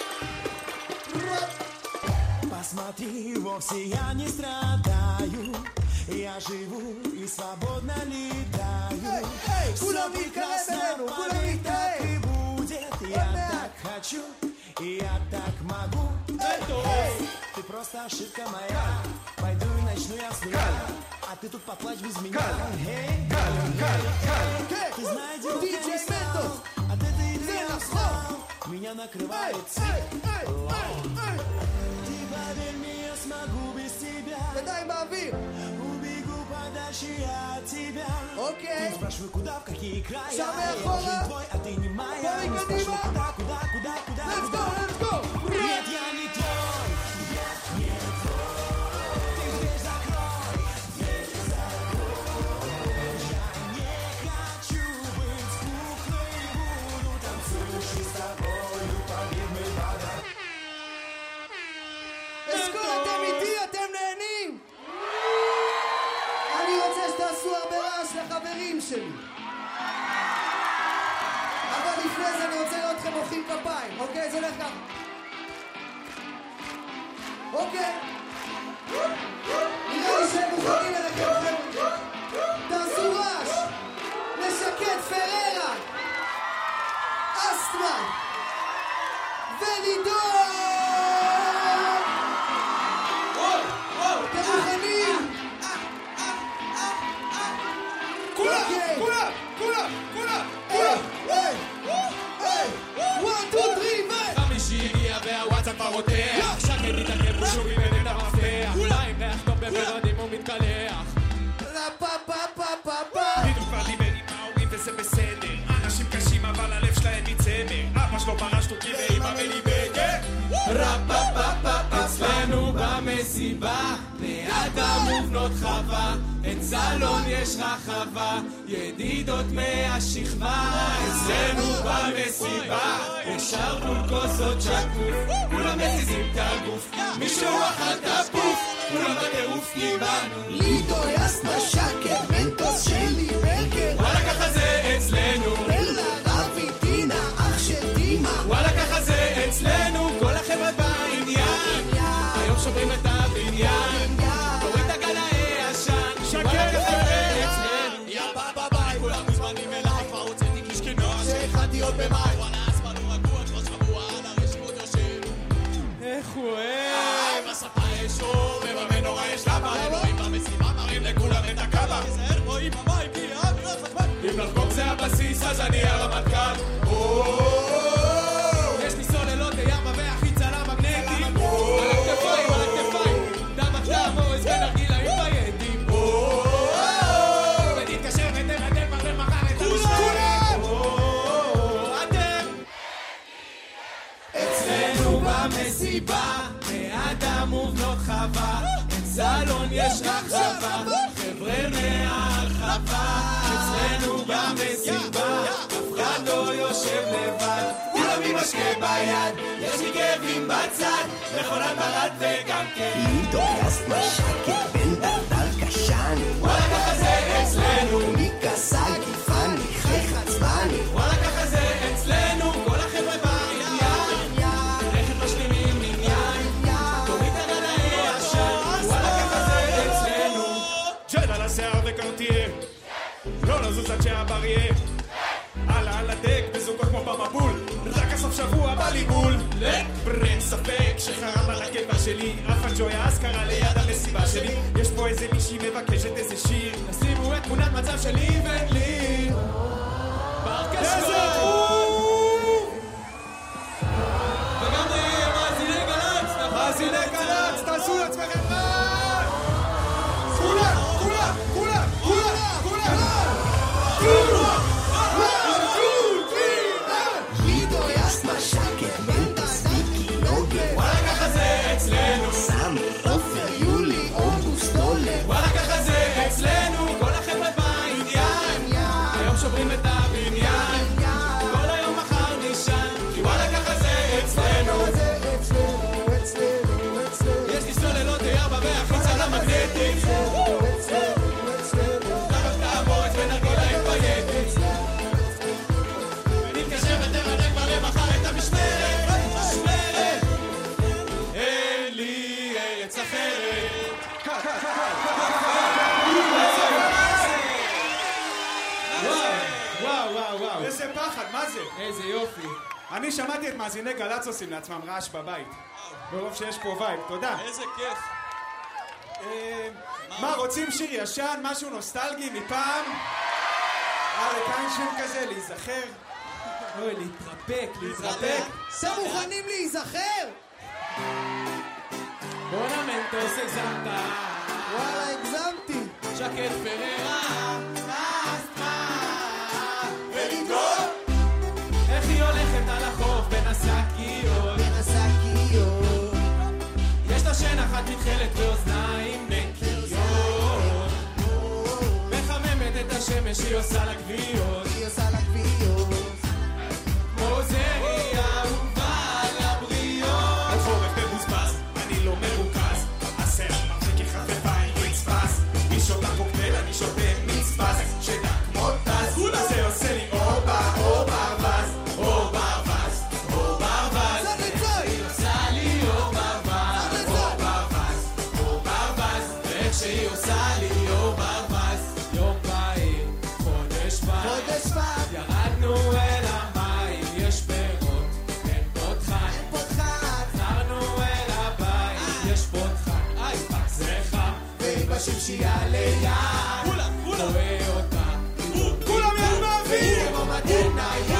S8: Посмотри, вовсе я не страдаю. Я живу и свободно летаю. Все прекрасно, поверь, так и будет. Я так хочу, и я так могу. Эй, ты просто ошибка моя. Пойду и начну я с нуля. А ты тут поплачь без меня. Эй, ты знаешь, где я не стал. От этой игры я встал. Меня накрывает цвет. Ты поверь мне, я смогу без тебя.
S7: ידיים באוויר.
S8: Убегу подальше от тебя.
S7: אוקיי.
S8: Ты спрашивай, куда, в какие края.
S7: שם
S8: Я
S7: מאחורה.
S8: же твой, а ты не моя.
S7: בואי
S8: Не
S7: קדימה.
S8: спрашивай, куда, куда, куда, куда,
S7: Let's
S8: куда.
S7: go, let's go.
S8: Нет, я не твой. Я не твой. Ты дверь закрой. Дверь закрой. Я не хочу быть куклой. Буду танцующей с тобою. Поверь, мы вода.
S7: אשכול, אתם איתי, אתם נהנים? אני רוצה שתעשו הרבה רעש לחברים שלי. אבל לפני זה אני רוצה לראות אתכם מוחאים כפיים, אוקיי? זה הולך ככה. אוקיי? נראה לי שהם מוכנים אליכם, חבר'ה. תעשו רעש. לשקד פררה. אסטמן. ולידור. אתם מוכנים?
S8: כולם,
S7: אוקיי.
S8: כולם, כולם, כולם,
S7: היי,
S8: כולם.
S7: היי, היי. one, two, three, ו...
S9: חמישי הגיע והוואטסאפ כבר רותח שקט מתעכב ושוב איבד את המפתח מים ריח טוב בברדים הוא מתקלח
S7: לה פה פה פה פה פה.
S9: בדיוק כבר דיבר עם ההורים וזה בסדר אנשים קשים אבל הלב שלהם מצמר אבא שלו פרש תוכי ואמא מליבגר רפפפפ אצלנו במסיבה לאדם ובנות חווה אצלון יש רחבה ידידות מהשכבה אצלנו במסיבה ישר מול כוסות שקוף כולם מזיזים את הגוף מישהו אכל תפוף כולם בטירוף קיבלנו
S7: לידו יסנה שקט מנטוס שלי ברגר.
S9: וואלה ככה זה אצלנו
S7: בלה רבי דינה אח של דימה.
S9: וואלה ככה זה אצלנו כל החבר'ה בעניין היום שוברים את הבניין תוריד את הגל הישן וואלה ככה זה אצלנו יא בבא ביי כולם מוזמנים אליי כבר הוצאתי קישקנות שהכנתי עוד במאי וואלה אספנו רגוע שלוש שבוע על הרשימות יושב איך הוא אוהב בספה יש אור וממן נורא יש למה אלוהים במשימה מראים לכולם את הקאבה תיזהר רואים המים כי העם לא חשמל אם לחגוג זה הבסיס אז אני הרמטכ"ל יש לי סוללות לימה והחיצה למגנטים על הכתפיים, על הכתפיים דם הקדם או הסגן הרגילה עם ביידים ונתקשר ותרדם כבר למחר את המשפט אתם אצלנו במסיבה מאדם ובנות חווה סלון יש רחבה חבר'ה מהרחבה אצלנו במסיבה אף אחד לא יושב לבד כולם עם משקה ביד יש לי כאבים בצד מכונת ברד וגם כן
S8: לידו יסנה שקט בן דרדר קשני.
S9: וואלה ככה זה אצלנו
S8: מיקה סגי פני חייך עצבני.
S9: וואלה ככה זה אצלנו כל החבר'ה בעניין רכב משלימים עניין תוריד את הגל הישן וואלה ככה זה אצלנו ג'ל על השיער וקרטייה לא לזוז עד שהבריה עלה על הדק בזוגות כמו במבול רק הסוף שבוע בליבול לברן ספק שחרם על הקבע שלי אף הג'ויה אז קרה ליד המסיבה שלי יש פה איזה מישהי מבקשת איזה שיר נשימו את תמונת מצב שלי ולי בארקסטרה וגם מאזיני גל"צ מאזיני גל"צ תעשו לעצמכם רעש כולם כולם כולם כולם כולם
S8: לידו יסנה שקט מנטוס ויקי יוגר.
S9: וואלה ככה זה אצלנו
S8: סמי עופר יולי אוגוסט דולר.
S9: וואלה ככה זה אצלנו כל החבר'ה בעניין היום שוברים פחד, מה זה?
S5: איזה יופי.
S9: אני שמעתי את מאזיני גל"צ עושים לעצמם רעש בבית. ברוב שיש פה וייב, תודה.
S10: איזה כיף.
S9: מה, רוצים שיר ישן, משהו נוסטלגי מפעם? אריק איינשטיין כזה, להיזכר?
S5: אוי, להתרפק, להתרפק.
S7: אתם מוכנים להיזכר?
S5: בונמנטו סגזמת.
S7: וואלה, הגזמתי.
S5: שקט פררה. איך היא הולכת על החוף בין השקיות?
S7: בין השקיות.
S5: יש לה שן אחת מתחלת ואוזניים נקיות. מחממת את השמש, היא עושה לה גוויות.
S7: היא עושה לה גוויות.
S5: כמו זרי אהובה על הבריות.
S9: על חורף מבוזבז, אני לא מרוכז. השיער מחזיק כחפפה עם מצפס. היא שותה קוקטייל, אני שותה מצפס. שדה כמו טס, זה עושה לי אור באור ברווז. אור ברווז, אור ברווז. היא עושה לי אור ברווז. אור ברווז, אור ברווז. ואיך שהיא עושה לי אור ברווז.
S5: יום בהיר, חודש בר.
S7: חודש בר.
S5: ירדנו אל המים, יש פירות, אין פותחן.
S7: אין פותחן.
S5: חזרנו אל הבית, יש פותחן. איי, פק זה חם.
S7: והיא בשמשייה ליד.
S5: כולם, כולם. רואה אותה.
S9: כולם יד באוויר!
S7: כמו מתן נייד.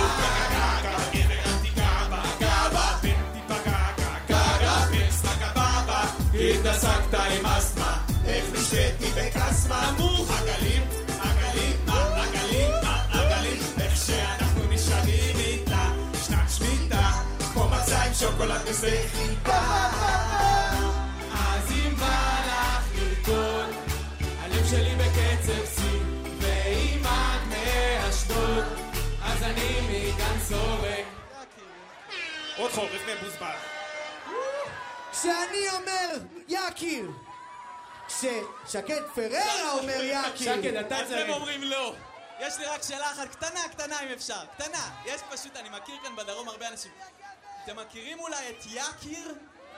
S9: התעסקת עם אסמה, איך נשתתי בקסמה. נמוך! עגלים, עגלים, מה עגלים, מה עגלים. איך שאנחנו נשאלים איתה, שנת שמיטה, כמו מצה עם שוקולד וחיטה.
S5: אז אם בא לך לרקוד, הלב שלי בקצב שיא, ואם את מאשדוד, אז אני מכאן סורק.
S9: עוד חורף מבוזבז.
S7: כשאני אומר יקיר, כששקד פררה אומר יקיר.
S5: שקד, אתה
S10: אתם
S5: צריך.
S10: אומרים לא. יש לי רק שאלה אחת קטנה, קטנה אם אפשר. קטנה. יש פשוט, אני מכיר כאן בדרום הרבה אנשים. אתם מכירים אולי את יקיר?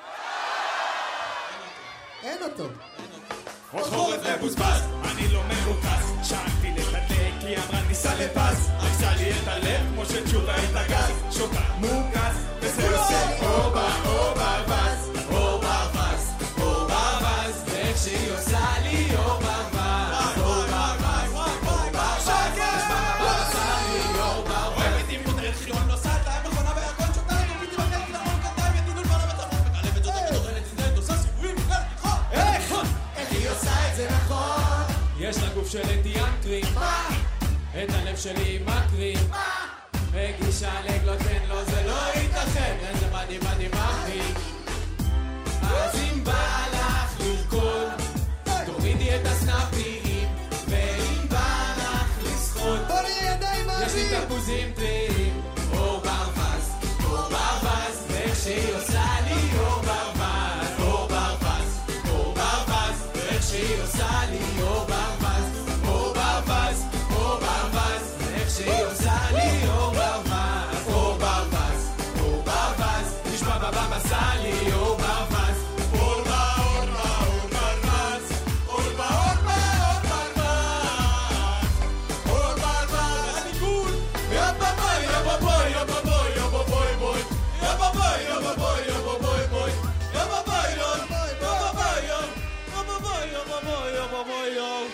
S7: אין אותו.
S9: עוד חורף מבוזבז, אני לא מרוכז. שאלתי לתדלק, היא אמרה ניסה לפז. עשה לי את הלב כמו שתשובה את הגז. שותה מוקז, וזה עושה לי אור באור ברווז.
S5: אור ברווז, אור ברווז, ואיך שהיא עושה לי אור ברווז. אור ברווז, אור ברווז, עושה לי אור ברווז.
S10: אוהבת עם מותרת חילון נוסעת להם מכונה בירקון שותה לי פיתי בקטי למון קטיים ידידו לבנה בצפון מקלפת זאת ומתוכנת נזדהת עושה סיבובים מכלל תיכון.
S7: איך? איך היא עושה את זה נכון?
S5: יש לה גוף של אנטיאנקרים, את הלב שלי מקרים, מגישה לגלוטן, לא זה לא ייתכן, איזה מדהים מדהים אחי. אז אם בא לך לרקוד, תורידי את הסנאפים, ואם בא לך לשחות,
S7: בוא נראה ידיים
S5: יש לי
S7: מאוויר.
S5: תפוזים טריים. אור ברווז, אור ברווז, ואיך שהיא עושה לי אור ברווז. אור ברווז, אור ברווז, ואיך שהיא עושה לי אור ברווז. אור ברווז, אור ברווז, ואיך שהיא עושה לי אור ברווז. אור ברווז, אור ברווז, נשמע בבא עשה לי אור ברווז. אור בה, אור בה, אור ברווז. אור בה, אור בה, אור ברווז. אור ברווז, הניגון. יא בבוי, יא בבוי, יא בבוי, יא בבוי, בוי. יא בבוי, יא בבוי, יא בבוי, בוי. יא בבוי, יא בבוי, יא בבוי, יא. יא בבוי, יא בבוי, יא בבוי, יא.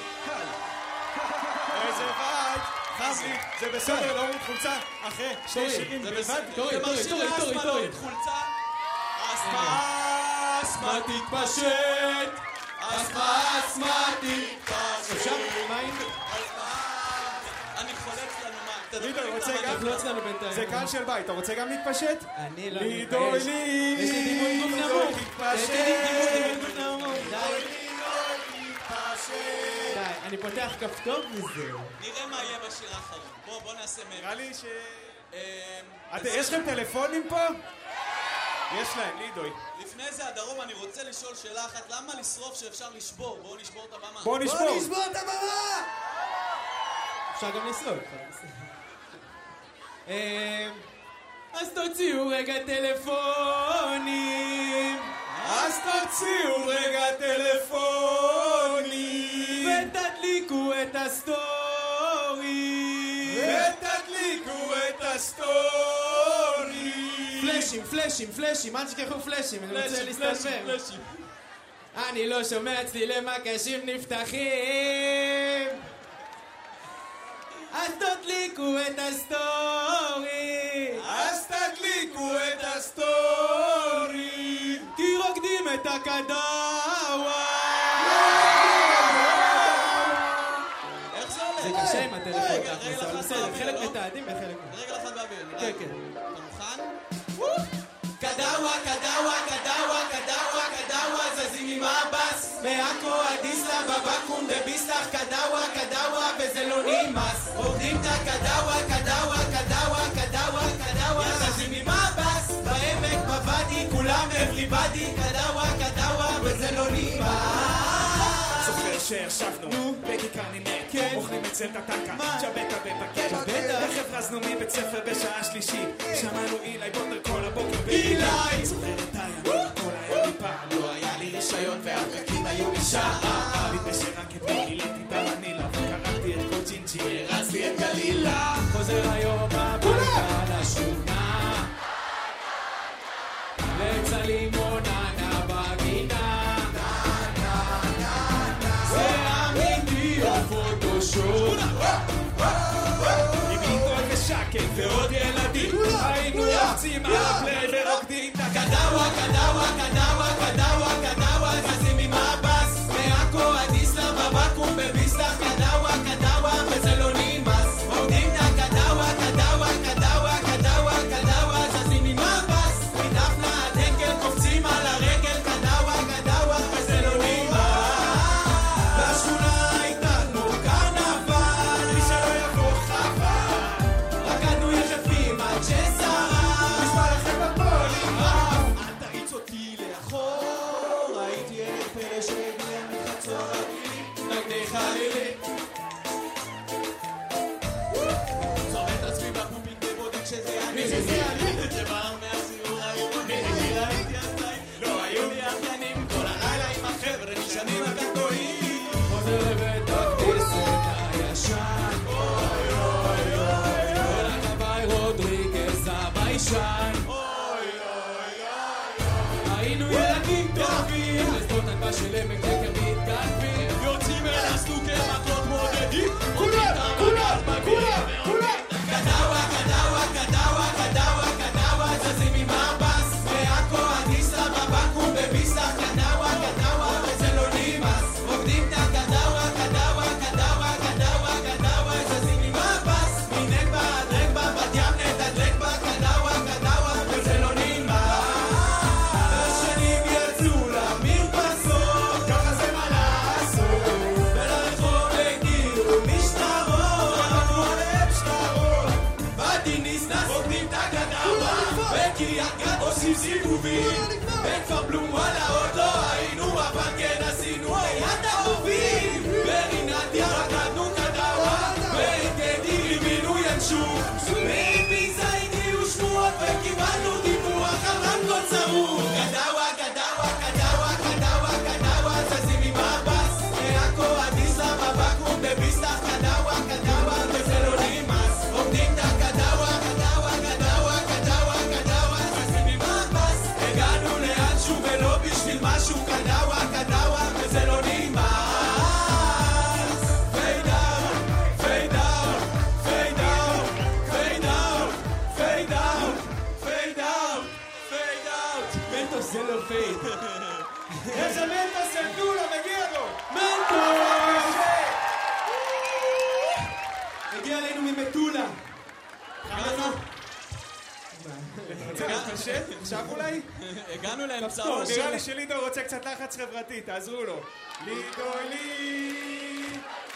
S9: איזה וייב. חזי, זה בסדר, לא מתחולצה. אחרי שני שירים בלבד.
S5: תורי, תורי, תורי, תורי, תורי.
S10: חולצה. אסמה, אסמה תתפשט. אסמה, אסמה תתפשט.
S5: אפשר? מה אם?
S10: אני חולץ לנו מה.
S9: לידו, רוצה גם?
S5: תחלוץ לנו בינתיים.
S9: זה קהל של בית, אתה רוצה גם להתפשט?
S5: אני לא
S9: לידו,
S5: מתבייש.
S9: לי.
S5: יש לי דימוי גוף נמוך. יש לי דימוי גוף נמוך. די. די, אני פותח כפתור וזה.
S10: נראה מה יהיה בשיר האחרון. בוא, בוא נעשה מהם.
S9: נראה לי ש...
S10: אמ,
S9: אתם- יש לכם טלפונים פה? יש להם, לידוי.
S10: לפני זה, הדרום, אני רוצה לשאול שאלה אחת. למה לשרוף שאפשר לשבור? בואו נשבור את הבמה.
S9: בואו נשבור.
S7: בוא נשבור את הבמה!
S5: אפשר גם לשרוד. אז תוציאו רגע טלפונים,
S9: אז תוציאו רגע טלפונים
S5: ותדליקו את הסטורי,
S9: ותדליקו את פלאשים, פלאשים, פלאשים, אל תשכחו פלאשים, אני רוצה להסתלבב. אני לא שומע צלילי מקשים נפתחים, אז תדליקו את הסטורי,
S5: אז תדליקו את הסטורי,
S9: כי רוקדים את הקדאווה.
S10: איך זה הולך?
S9: זה קשה עם הטלפון,
S10: רגע,
S9: אבל
S10: רגע,
S9: בסדר,
S10: אחד
S9: חלק
S10: באוויר,
S9: מתעדים וחלק...
S10: רגע אחד באוויר.
S9: כן, כן.
S10: אתה מוכן?
S5: קדאווה, קדאווה, קדאווה, קדאווה, קדאווה, זזים עם הבס מעכו עד איסלאם, בבקו"ם בביסלח, קדאווה, קדאווה, וזה לא נמאס. רוקדים את הקדאווה, קדאווה, קדאווה, קדאווה, קדאווה, זזים עם הבס בעמק, בוואדי, כולם everybody, קדאווה, קדאווה, וזה לא נמאס.
S8: זוכר שישבנו בכיכר נימק, אוכלים אצל טטקה, צ'בטה ובקט, רכב רזנו מבית ספר בשעה שלישית, שמענו אילי בונדר כל הבוקר
S5: אילי!
S8: זוכר את הימים, כל היה לי פעם,
S5: לא היה לי רישיון והפרקים היו לי שעה,
S8: נדמה שרק אתמול גיליתי במנילה וקראתי את כל צ'ינצ'י,
S5: הרצתי את גלילה,
S9: חוזר היום הביתה לשכונה, לצע לימוננה בגינה, זה אמיתי או פוטושופ,
S8: עם ליטול ושקל ועוד ילדים, היינו יוצאים על הפליי ורוקדים את
S5: קדאווה, קדאווה, קדאווה, קדאווה, קדאווה, זזים עם הבס מעכו עד איסלאם, בבקו"ם בביסלח, קדאווה, קדאווה, וזה לא נמאס. רוקדים את הקדאווה, קדאווה, קדאווה, קדאווה, קדאווה, זזים עם הבס מדפנה עד הנקל, קופצים על הרגל, קדאווה, קדאווה, וזה לא נמאס. בשכונה הייתה כמו קרנבל, מי שלא יבוא חבל, רקדנו יחפים עד ששרה, נשמע לכם בפוליגרף. אל תריץ אותי לאחור, ראיתי ילד פלא שהגיע מחצור הגילי, נגדי חלילי. זורם את עצמי בפופיק ובודק שזה אני, שזה אני, שבא מהסיור העירוני, ראיתי עדיין, לא היו לי אחיינים, כל הלילה עם החבר'ה נשענים הקטועים.
S9: חוזר לבית הכנסת הישן,
S5: אוי אוי אוי
S9: כל הכבאי רודריגז הביישן,
S5: אוי אוי
S9: היינו ילדים טובים, לשדות הנפה של עמק חקר מתגנבים,
S5: יוצאים אל הסנוקר מקלות מודדים, כולם, כולם, כולם, כולם. קדאווה, קדאווה, קדאווה, קדאווה, קדאווה, זזים עם הבס מעכו עד איסלאם, בבקו"ם בביסלח, קדאווה, קדאווה, וזה לא נמאס. רוקדים את הקדאווה, קדאווה, קדאווה, קדאווה, קדאווה, זזים עם הבס מנגבה עד רגבה, בת ים נתדלק בה, קדאווה, קדאווה, וזה לא נמאס. השנים יצאו למרפסות, ככה זה מה לעשות, ולרחוב הגיעו משטרות, רקדנו עליהם שטרות, באתי נסנס, רוקדים את הקדאווה, בקריית גת עושים סיבובים, בכפר בלום וואלה עוד לא היינו, אבל כן עשינו ליד האהובים, ברינת ים רקדנו קדאווה, בעין רימינו ינשוף, מביזה הגיעו שמועות וקיבלנו דיווח על רמקול צרוף. קדאווה, קדאווה, קדאווה, קדאווה, קדאווה, זזים עם הבס מעכו עד איסלאם, בבקו"ם בביסלח, קדאווה, קדאווה, וזה לא נמאס. רוקדים את הקדאווה, קדאווה, קדאווה, קדאווה, קדאווה, זזים עם הבס, הגענו לאנשהו ולא בשביל משהו, קדאווה, קדאווה, וזה לא נמאס. Fade out, fade out, fade out, fade out, fade out, fade out, fade out.
S9: מנטוס זה לא פייד.
S8: איזה מנטוס הם דו לו, מגיע לו!
S9: מנטוס! הגיע אלינו ממטולה.
S8: קשה? עכשיו אולי?
S10: הגענו לאמצעו
S8: טוב, נראה
S10: של...
S8: לי שלידו רוצה קצת לחץ חברתי, תעזרו לו. לידו לי!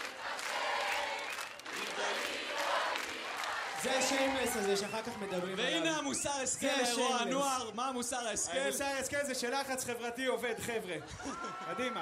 S9: זה השיימלס הזה שאחר כך מדברים עליו.
S10: והנה המוסר השכל,
S9: זה
S10: אירוע
S9: השיימלס.
S10: הנוער, מה המוסר ההשכל?
S8: המוסר ההשכל זה שלחץ חברתי עובד, חבר'ה. קדימה.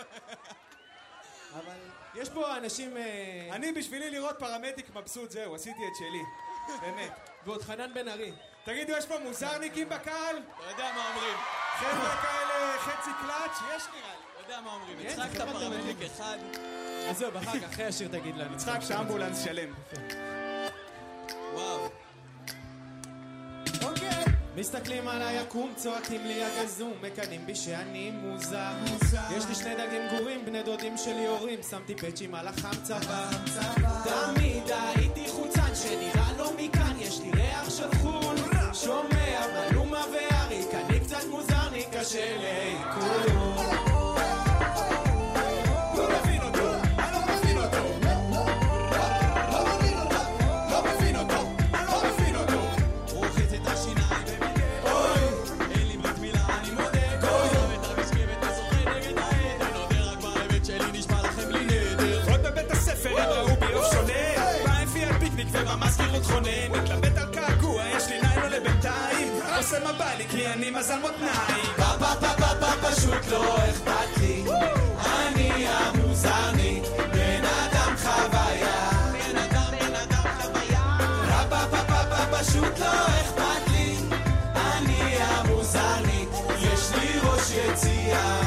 S9: אבל יש פה אנשים... אה,
S8: אני בשבילי לראות פרמדיק מבסוט, זהו, עשיתי את שלי. באמת.
S9: ועוד חנן בן ארי.
S8: תגידו, יש פה מוזרניקים בקהל?
S10: אתה יודע מה אומרים.
S8: חבר'ה כאלה חצי קלאץ'? יש נראה לי.
S10: אתה יודע מה אומרים.
S9: כן,
S10: יצחק
S9: זה
S10: את
S9: חבר'ה
S10: הפרמדיק
S9: תלמידים.
S10: אחד.
S9: עזוב, אחר כך, אחרי השיר תגיד לנו.
S8: יצחק שאמבולנס שלם.
S10: וואו.
S9: אוקיי. מסתכלים על היקום, צועקים לי הגזום, מקנים בי שאני מוזר. יש לי שני דגים גורים, בני דודים שלי הורים, שמתי פצ'ים על החם צבא. תמיד הייתי חוצן שנראה לו מכאן, יש לי ריח של חול, שומע מלומה ואריק, אני קצת מוזר, לי קשה לעיכול.
S5: ומזכירות חונן, מתלבט על קעקוע, יש לי ניילו לבינתיים, עושה מבלי כי אני מזל מותניים. פה פה פה פה פה פשוט לא אכפת לי, אני המוזרניק, בן אדם חוויה, בן אדם בן אדם חוויה. פה פה פה פה פשוט לא אכפת לי, אני המוזרניק, יש לי ראש יציאה.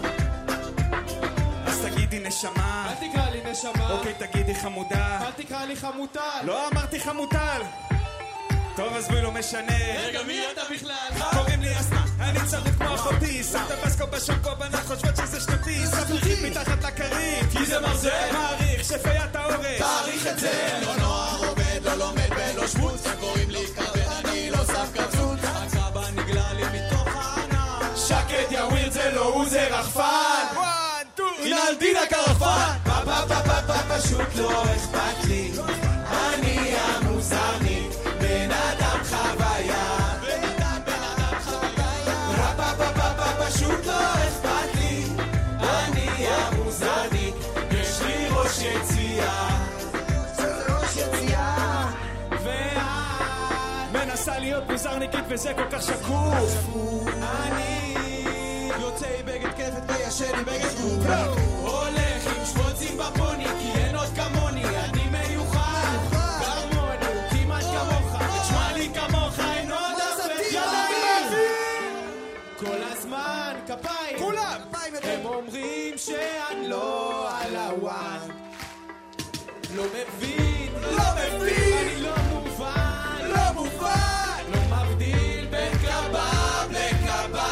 S5: אז תגידי נשמה,
S9: אל תקרא לי נשמה.
S5: אוקיי תגידי חמודה,
S9: אל תקרא לי חמוטל.
S5: לא אמרתי חמוטל. טוב אז בי לא משנה.
S10: רגע מי אתה בכלל?
S5: קוראים לי אסמה, אני צרוד כמו אחותי, שם את הבסקו בשוקו בנות חושבות שזה שנתי, ספלחית מתחת לכרית
S10: כי זה מרזה.
S5: מעריך שפיית האורש,
S10: תעריך את זה. לא נוער עובד, לא לומד ולא שמוץ, קוראים לי כבד, אני לא שם קצות, הצבא נגלה לי מתוך הענן.
S5: שקט יא ווירד זה לא הוא זה רחפן.
S10: הנה על דין הקרפן.
S5: פה פה פה פה פה פשוט לא אכפת לי, אני המוזרניק, בן אדם חוויה,
S10: בן אדם בן אדם חוויה.
S5: פה פה פה פה פשוט לא אכפת לי, אני המוזרניק, יש לי ראש יציאה. ראש יציאה. ואת מנסה להיות מוזרניקית וזה כל כך שקוף. אני יוצא עם בגד כפת וישן עם בגד גוף, הולך עם שבוצים בפוני כי אין עוד כמוני, אני מיוחד כמוני, הוא כמעט כמוך, תשמע לי כמוך, אין עוד אף ידיים כל הזמן כפיים, כולם הם אומרים שאני לא על הוואן, לא מבין, לא מבין, אני לא מובן, לא מובן, לא מבדיל בין קבב לקבב.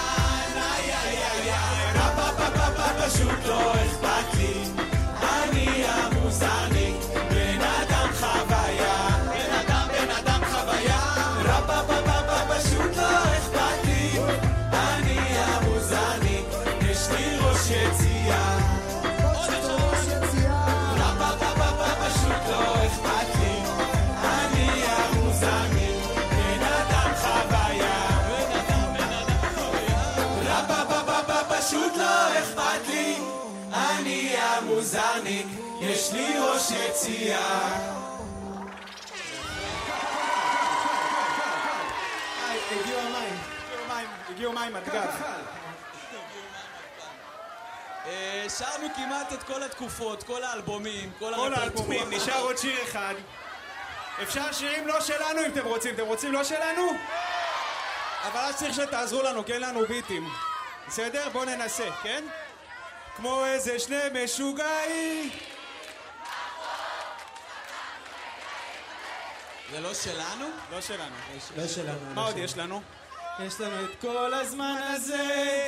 S5: פשוט לא אכפת לי, אני המוזרניק, בן אדם חוויה, בן אדם בן אדם חוויה. רפה פה פה פה פשוט לא אכפת לי, אני המוזרניק, יש לי ראש יציאה. רפה פה פה פה פשוט לא אכפת לי, אני המוזרניק, בן אדם חוויה, בן אדם בן אדם חוויה. רפה פה פה פה פשוט לא אכפת לי, אני המוזרניק, יש לי ראש יציאה.
S9: הגיעו המים.
S5: הגיעו מים על גב.
S10: שרנו כמעט את כל התקופות, כל האלבומים, כל
S5: כל האלבומים, נשאר עוד שיר אחד. אפשר שירים לא שלנו אם אתם רוצים. אתם רוצים לא שלנו? אבל אז צריך שתעזרו לנו, כן לנו ביטים. בסדר? בואו ננסה, כן? כמו איזה שני משוגעים.
S10: זה לא שלנו?
S5: לא שלנו.
S9: לא שלנו.
S5: מה עוד יש לנו?
S9: יש לנו את כל הזמן הזה.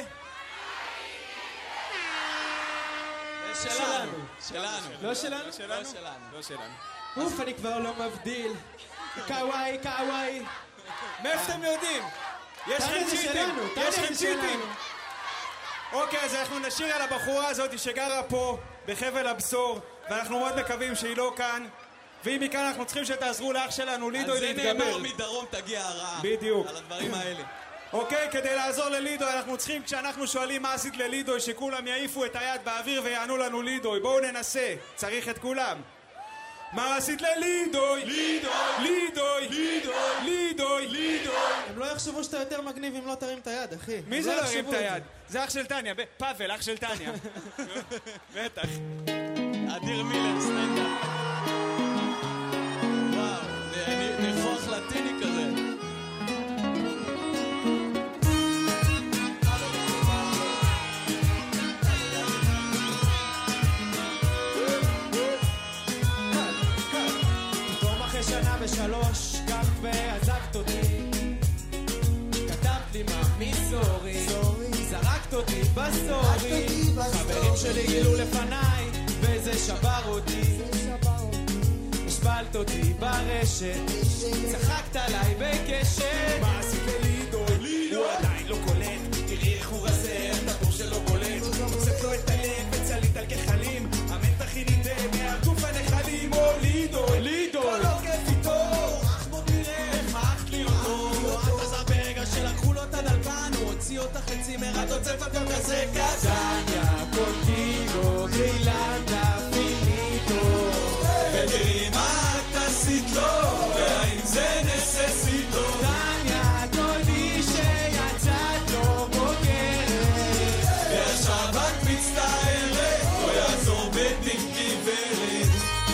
S10: זה שלנו. שלנו.
S9: לא שלנו?
S5: לא שלנו?
S10: לא שלנו.
S5: לא שלנו.
S9: אוף, אני כבר לא מבדיל. קוואי, קוואי.
S5: מאיפה אתם יודעים? יש לכם
S9: תענה, זה
S5: צ'יטים.
S9: שלנו, תענה,
S5: יש
S9: זה
S5: לכם צ'יטים.
S9: שלנו.
S5: אוקיי, אז אנחנו נשאיר על הבחורה הזאת שגרה פה, בחבל הבשור, ואנחנו מאוד מקווים שהיא לא כאן, ואם היא כאן אנחנו צריכים שתעזרו לאח שלנו לידוי להתגבר.
S10: על זה נאמר מדרום תגיע הרעה.
S5: בדיוק.
S10: על הדברים האלה.
S5: אוקיי, כדי לעזור ללידוי אנחנו צריכים, כשאנחנו שואלים מה עשית ללידוי, שכולם יעיפו את היד באוויר ויענו לנו לידוי. בואו ננסה, צריך את כולם. מה עשית ללידוי? לידוי! לידוי! לידוי! לידוי! לידוי!
S9: הם לא יחשבו שאתה יותר מגניב אם לא תרים את היד, אחי.
S5: מי זה לא הרים את היד? זה אח של טניה, פאבל, אח של טניה. בטח.
S10: אדיר מילר, סטנדאפ. וואו, נפוח לטיני כזה.
S9: פתאום אחרי שנה ושלוש, קם ועזבת אותי.
S5: סורי, זרקת אותי בסורי, חברים שלי גילו לפניי, וזה שבר אותי, השפלת אותי ברשת, צחקת עליי בקשת.
S9: מה עשית לידו? הוא עדיין לא קולט, תראי איך הוא רזה, הטבור שלו בולט, מוצאת לו את הלב וצלית על גחלים, המתח היא נידה מהגוף הנחלים. או לידו, לידו, כל עוקף איתו, אך בוא תראה איך מעכת לי אותו. את עזר ברגע שלקחו לו את הדלקן, הוא הוציא אותך לצימר, את עוצף הכל כזה קטניה, קונטיגו, גרילנדה, פיניטו, ותראי מה את עשית לו, והאם זה נססיטו. טניה, תודי שיצאת לו בוגרת, ועכשיו את מצטערת, לא יעזור בדין גברת.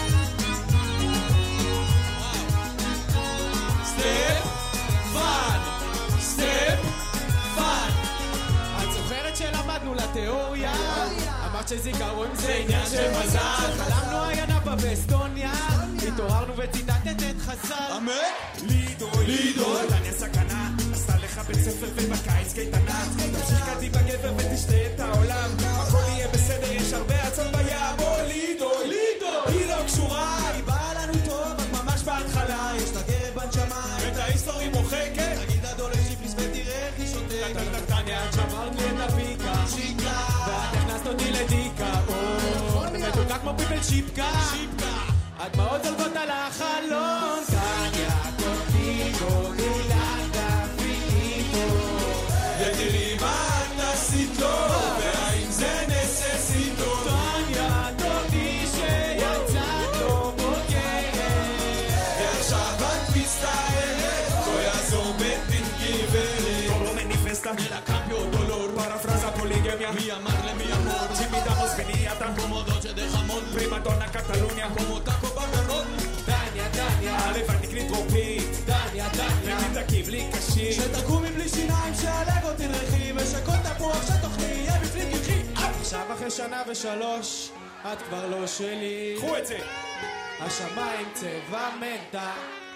S9: סטפ פאן, סטפ פאן.
S5: את זוכרת שלמדנו לתיאוריה? אמרת שזיכרון זה עניין של מזל. חלמנו עיינה באסטוניה, התעוררנו וציטטת את חז"ל.
S9: אמת? לידו, לידו, טניה סכנה, עשתה לך בית ספר ובקיץ קייטנה, תמשיך קדימה גבר ותשתה את העולם, הכל יהיה בסדר, יש הרבה עצות בים. או לידו, לידו, היא לא קשורה, היא באה לנו טוב, רק ממש בהתחלה, יש לה גרב בנשמה, את ההיסטורי מוחקת, תגיד הדולר שיפליס ותראה איך היא שותקת.
S5: טניה, את שברת לי את הפיקה,
S9: שיקה,
S5: ואת הכנסת אותי לדיקה, או, מתוקה כמו פיפל שיפקה, הדמעות זולגות על החלון. טניה, קונטיגו, גרילנדה, פיניטו,
S9: ותראי מה את עשית לו, והאם זה נססיטו.
S5: טניה, תודי שיצאת לו בוגרת,
S9: ועכשיו את מצטערת, לא יעזור בדין גברת. לא מניפסטה, אלא קמפיו דולור, פרפרזה פוליגמיה, מי אמר למי אמור, צימידמוס ונייתה, קומודות שדחמות, פרימדונה קטלוניה, קומוטקו בגרות.
S5: טניה, טניה,
S9: הלבד נקרית טרופית,
S5: טניה, טניה,
S9: ותתקיב לי קשי,
S5: שתקומי בלי שיניים, שהלגו תדרכי, ושכל תפוח שתאכלי יהיה בפנים קרחי. עכשיו אחרי שנה ושלוש, את כבר לא שלי.
S9: קחו את זה.
S5: השמיים צבע מנטה,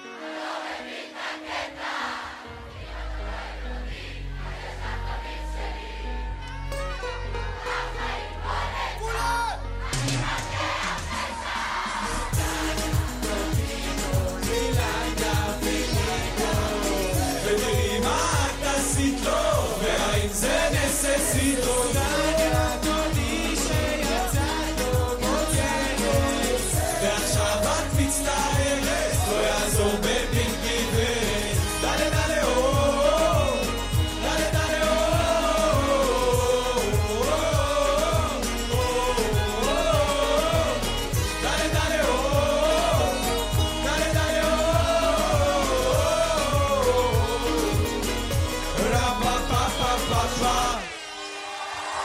S9: ותראי מה את עשית לו, והאם זה נססיטו.
S5: טניה, תודי שיצאת לו בוגרת,
S9: ועכשיו את מצטערת, לא יעזור בדין גברת. דלה דלה או, דלה דלה או, דלה דלה או, דלה דלה או, רה פה פה פה פה פה.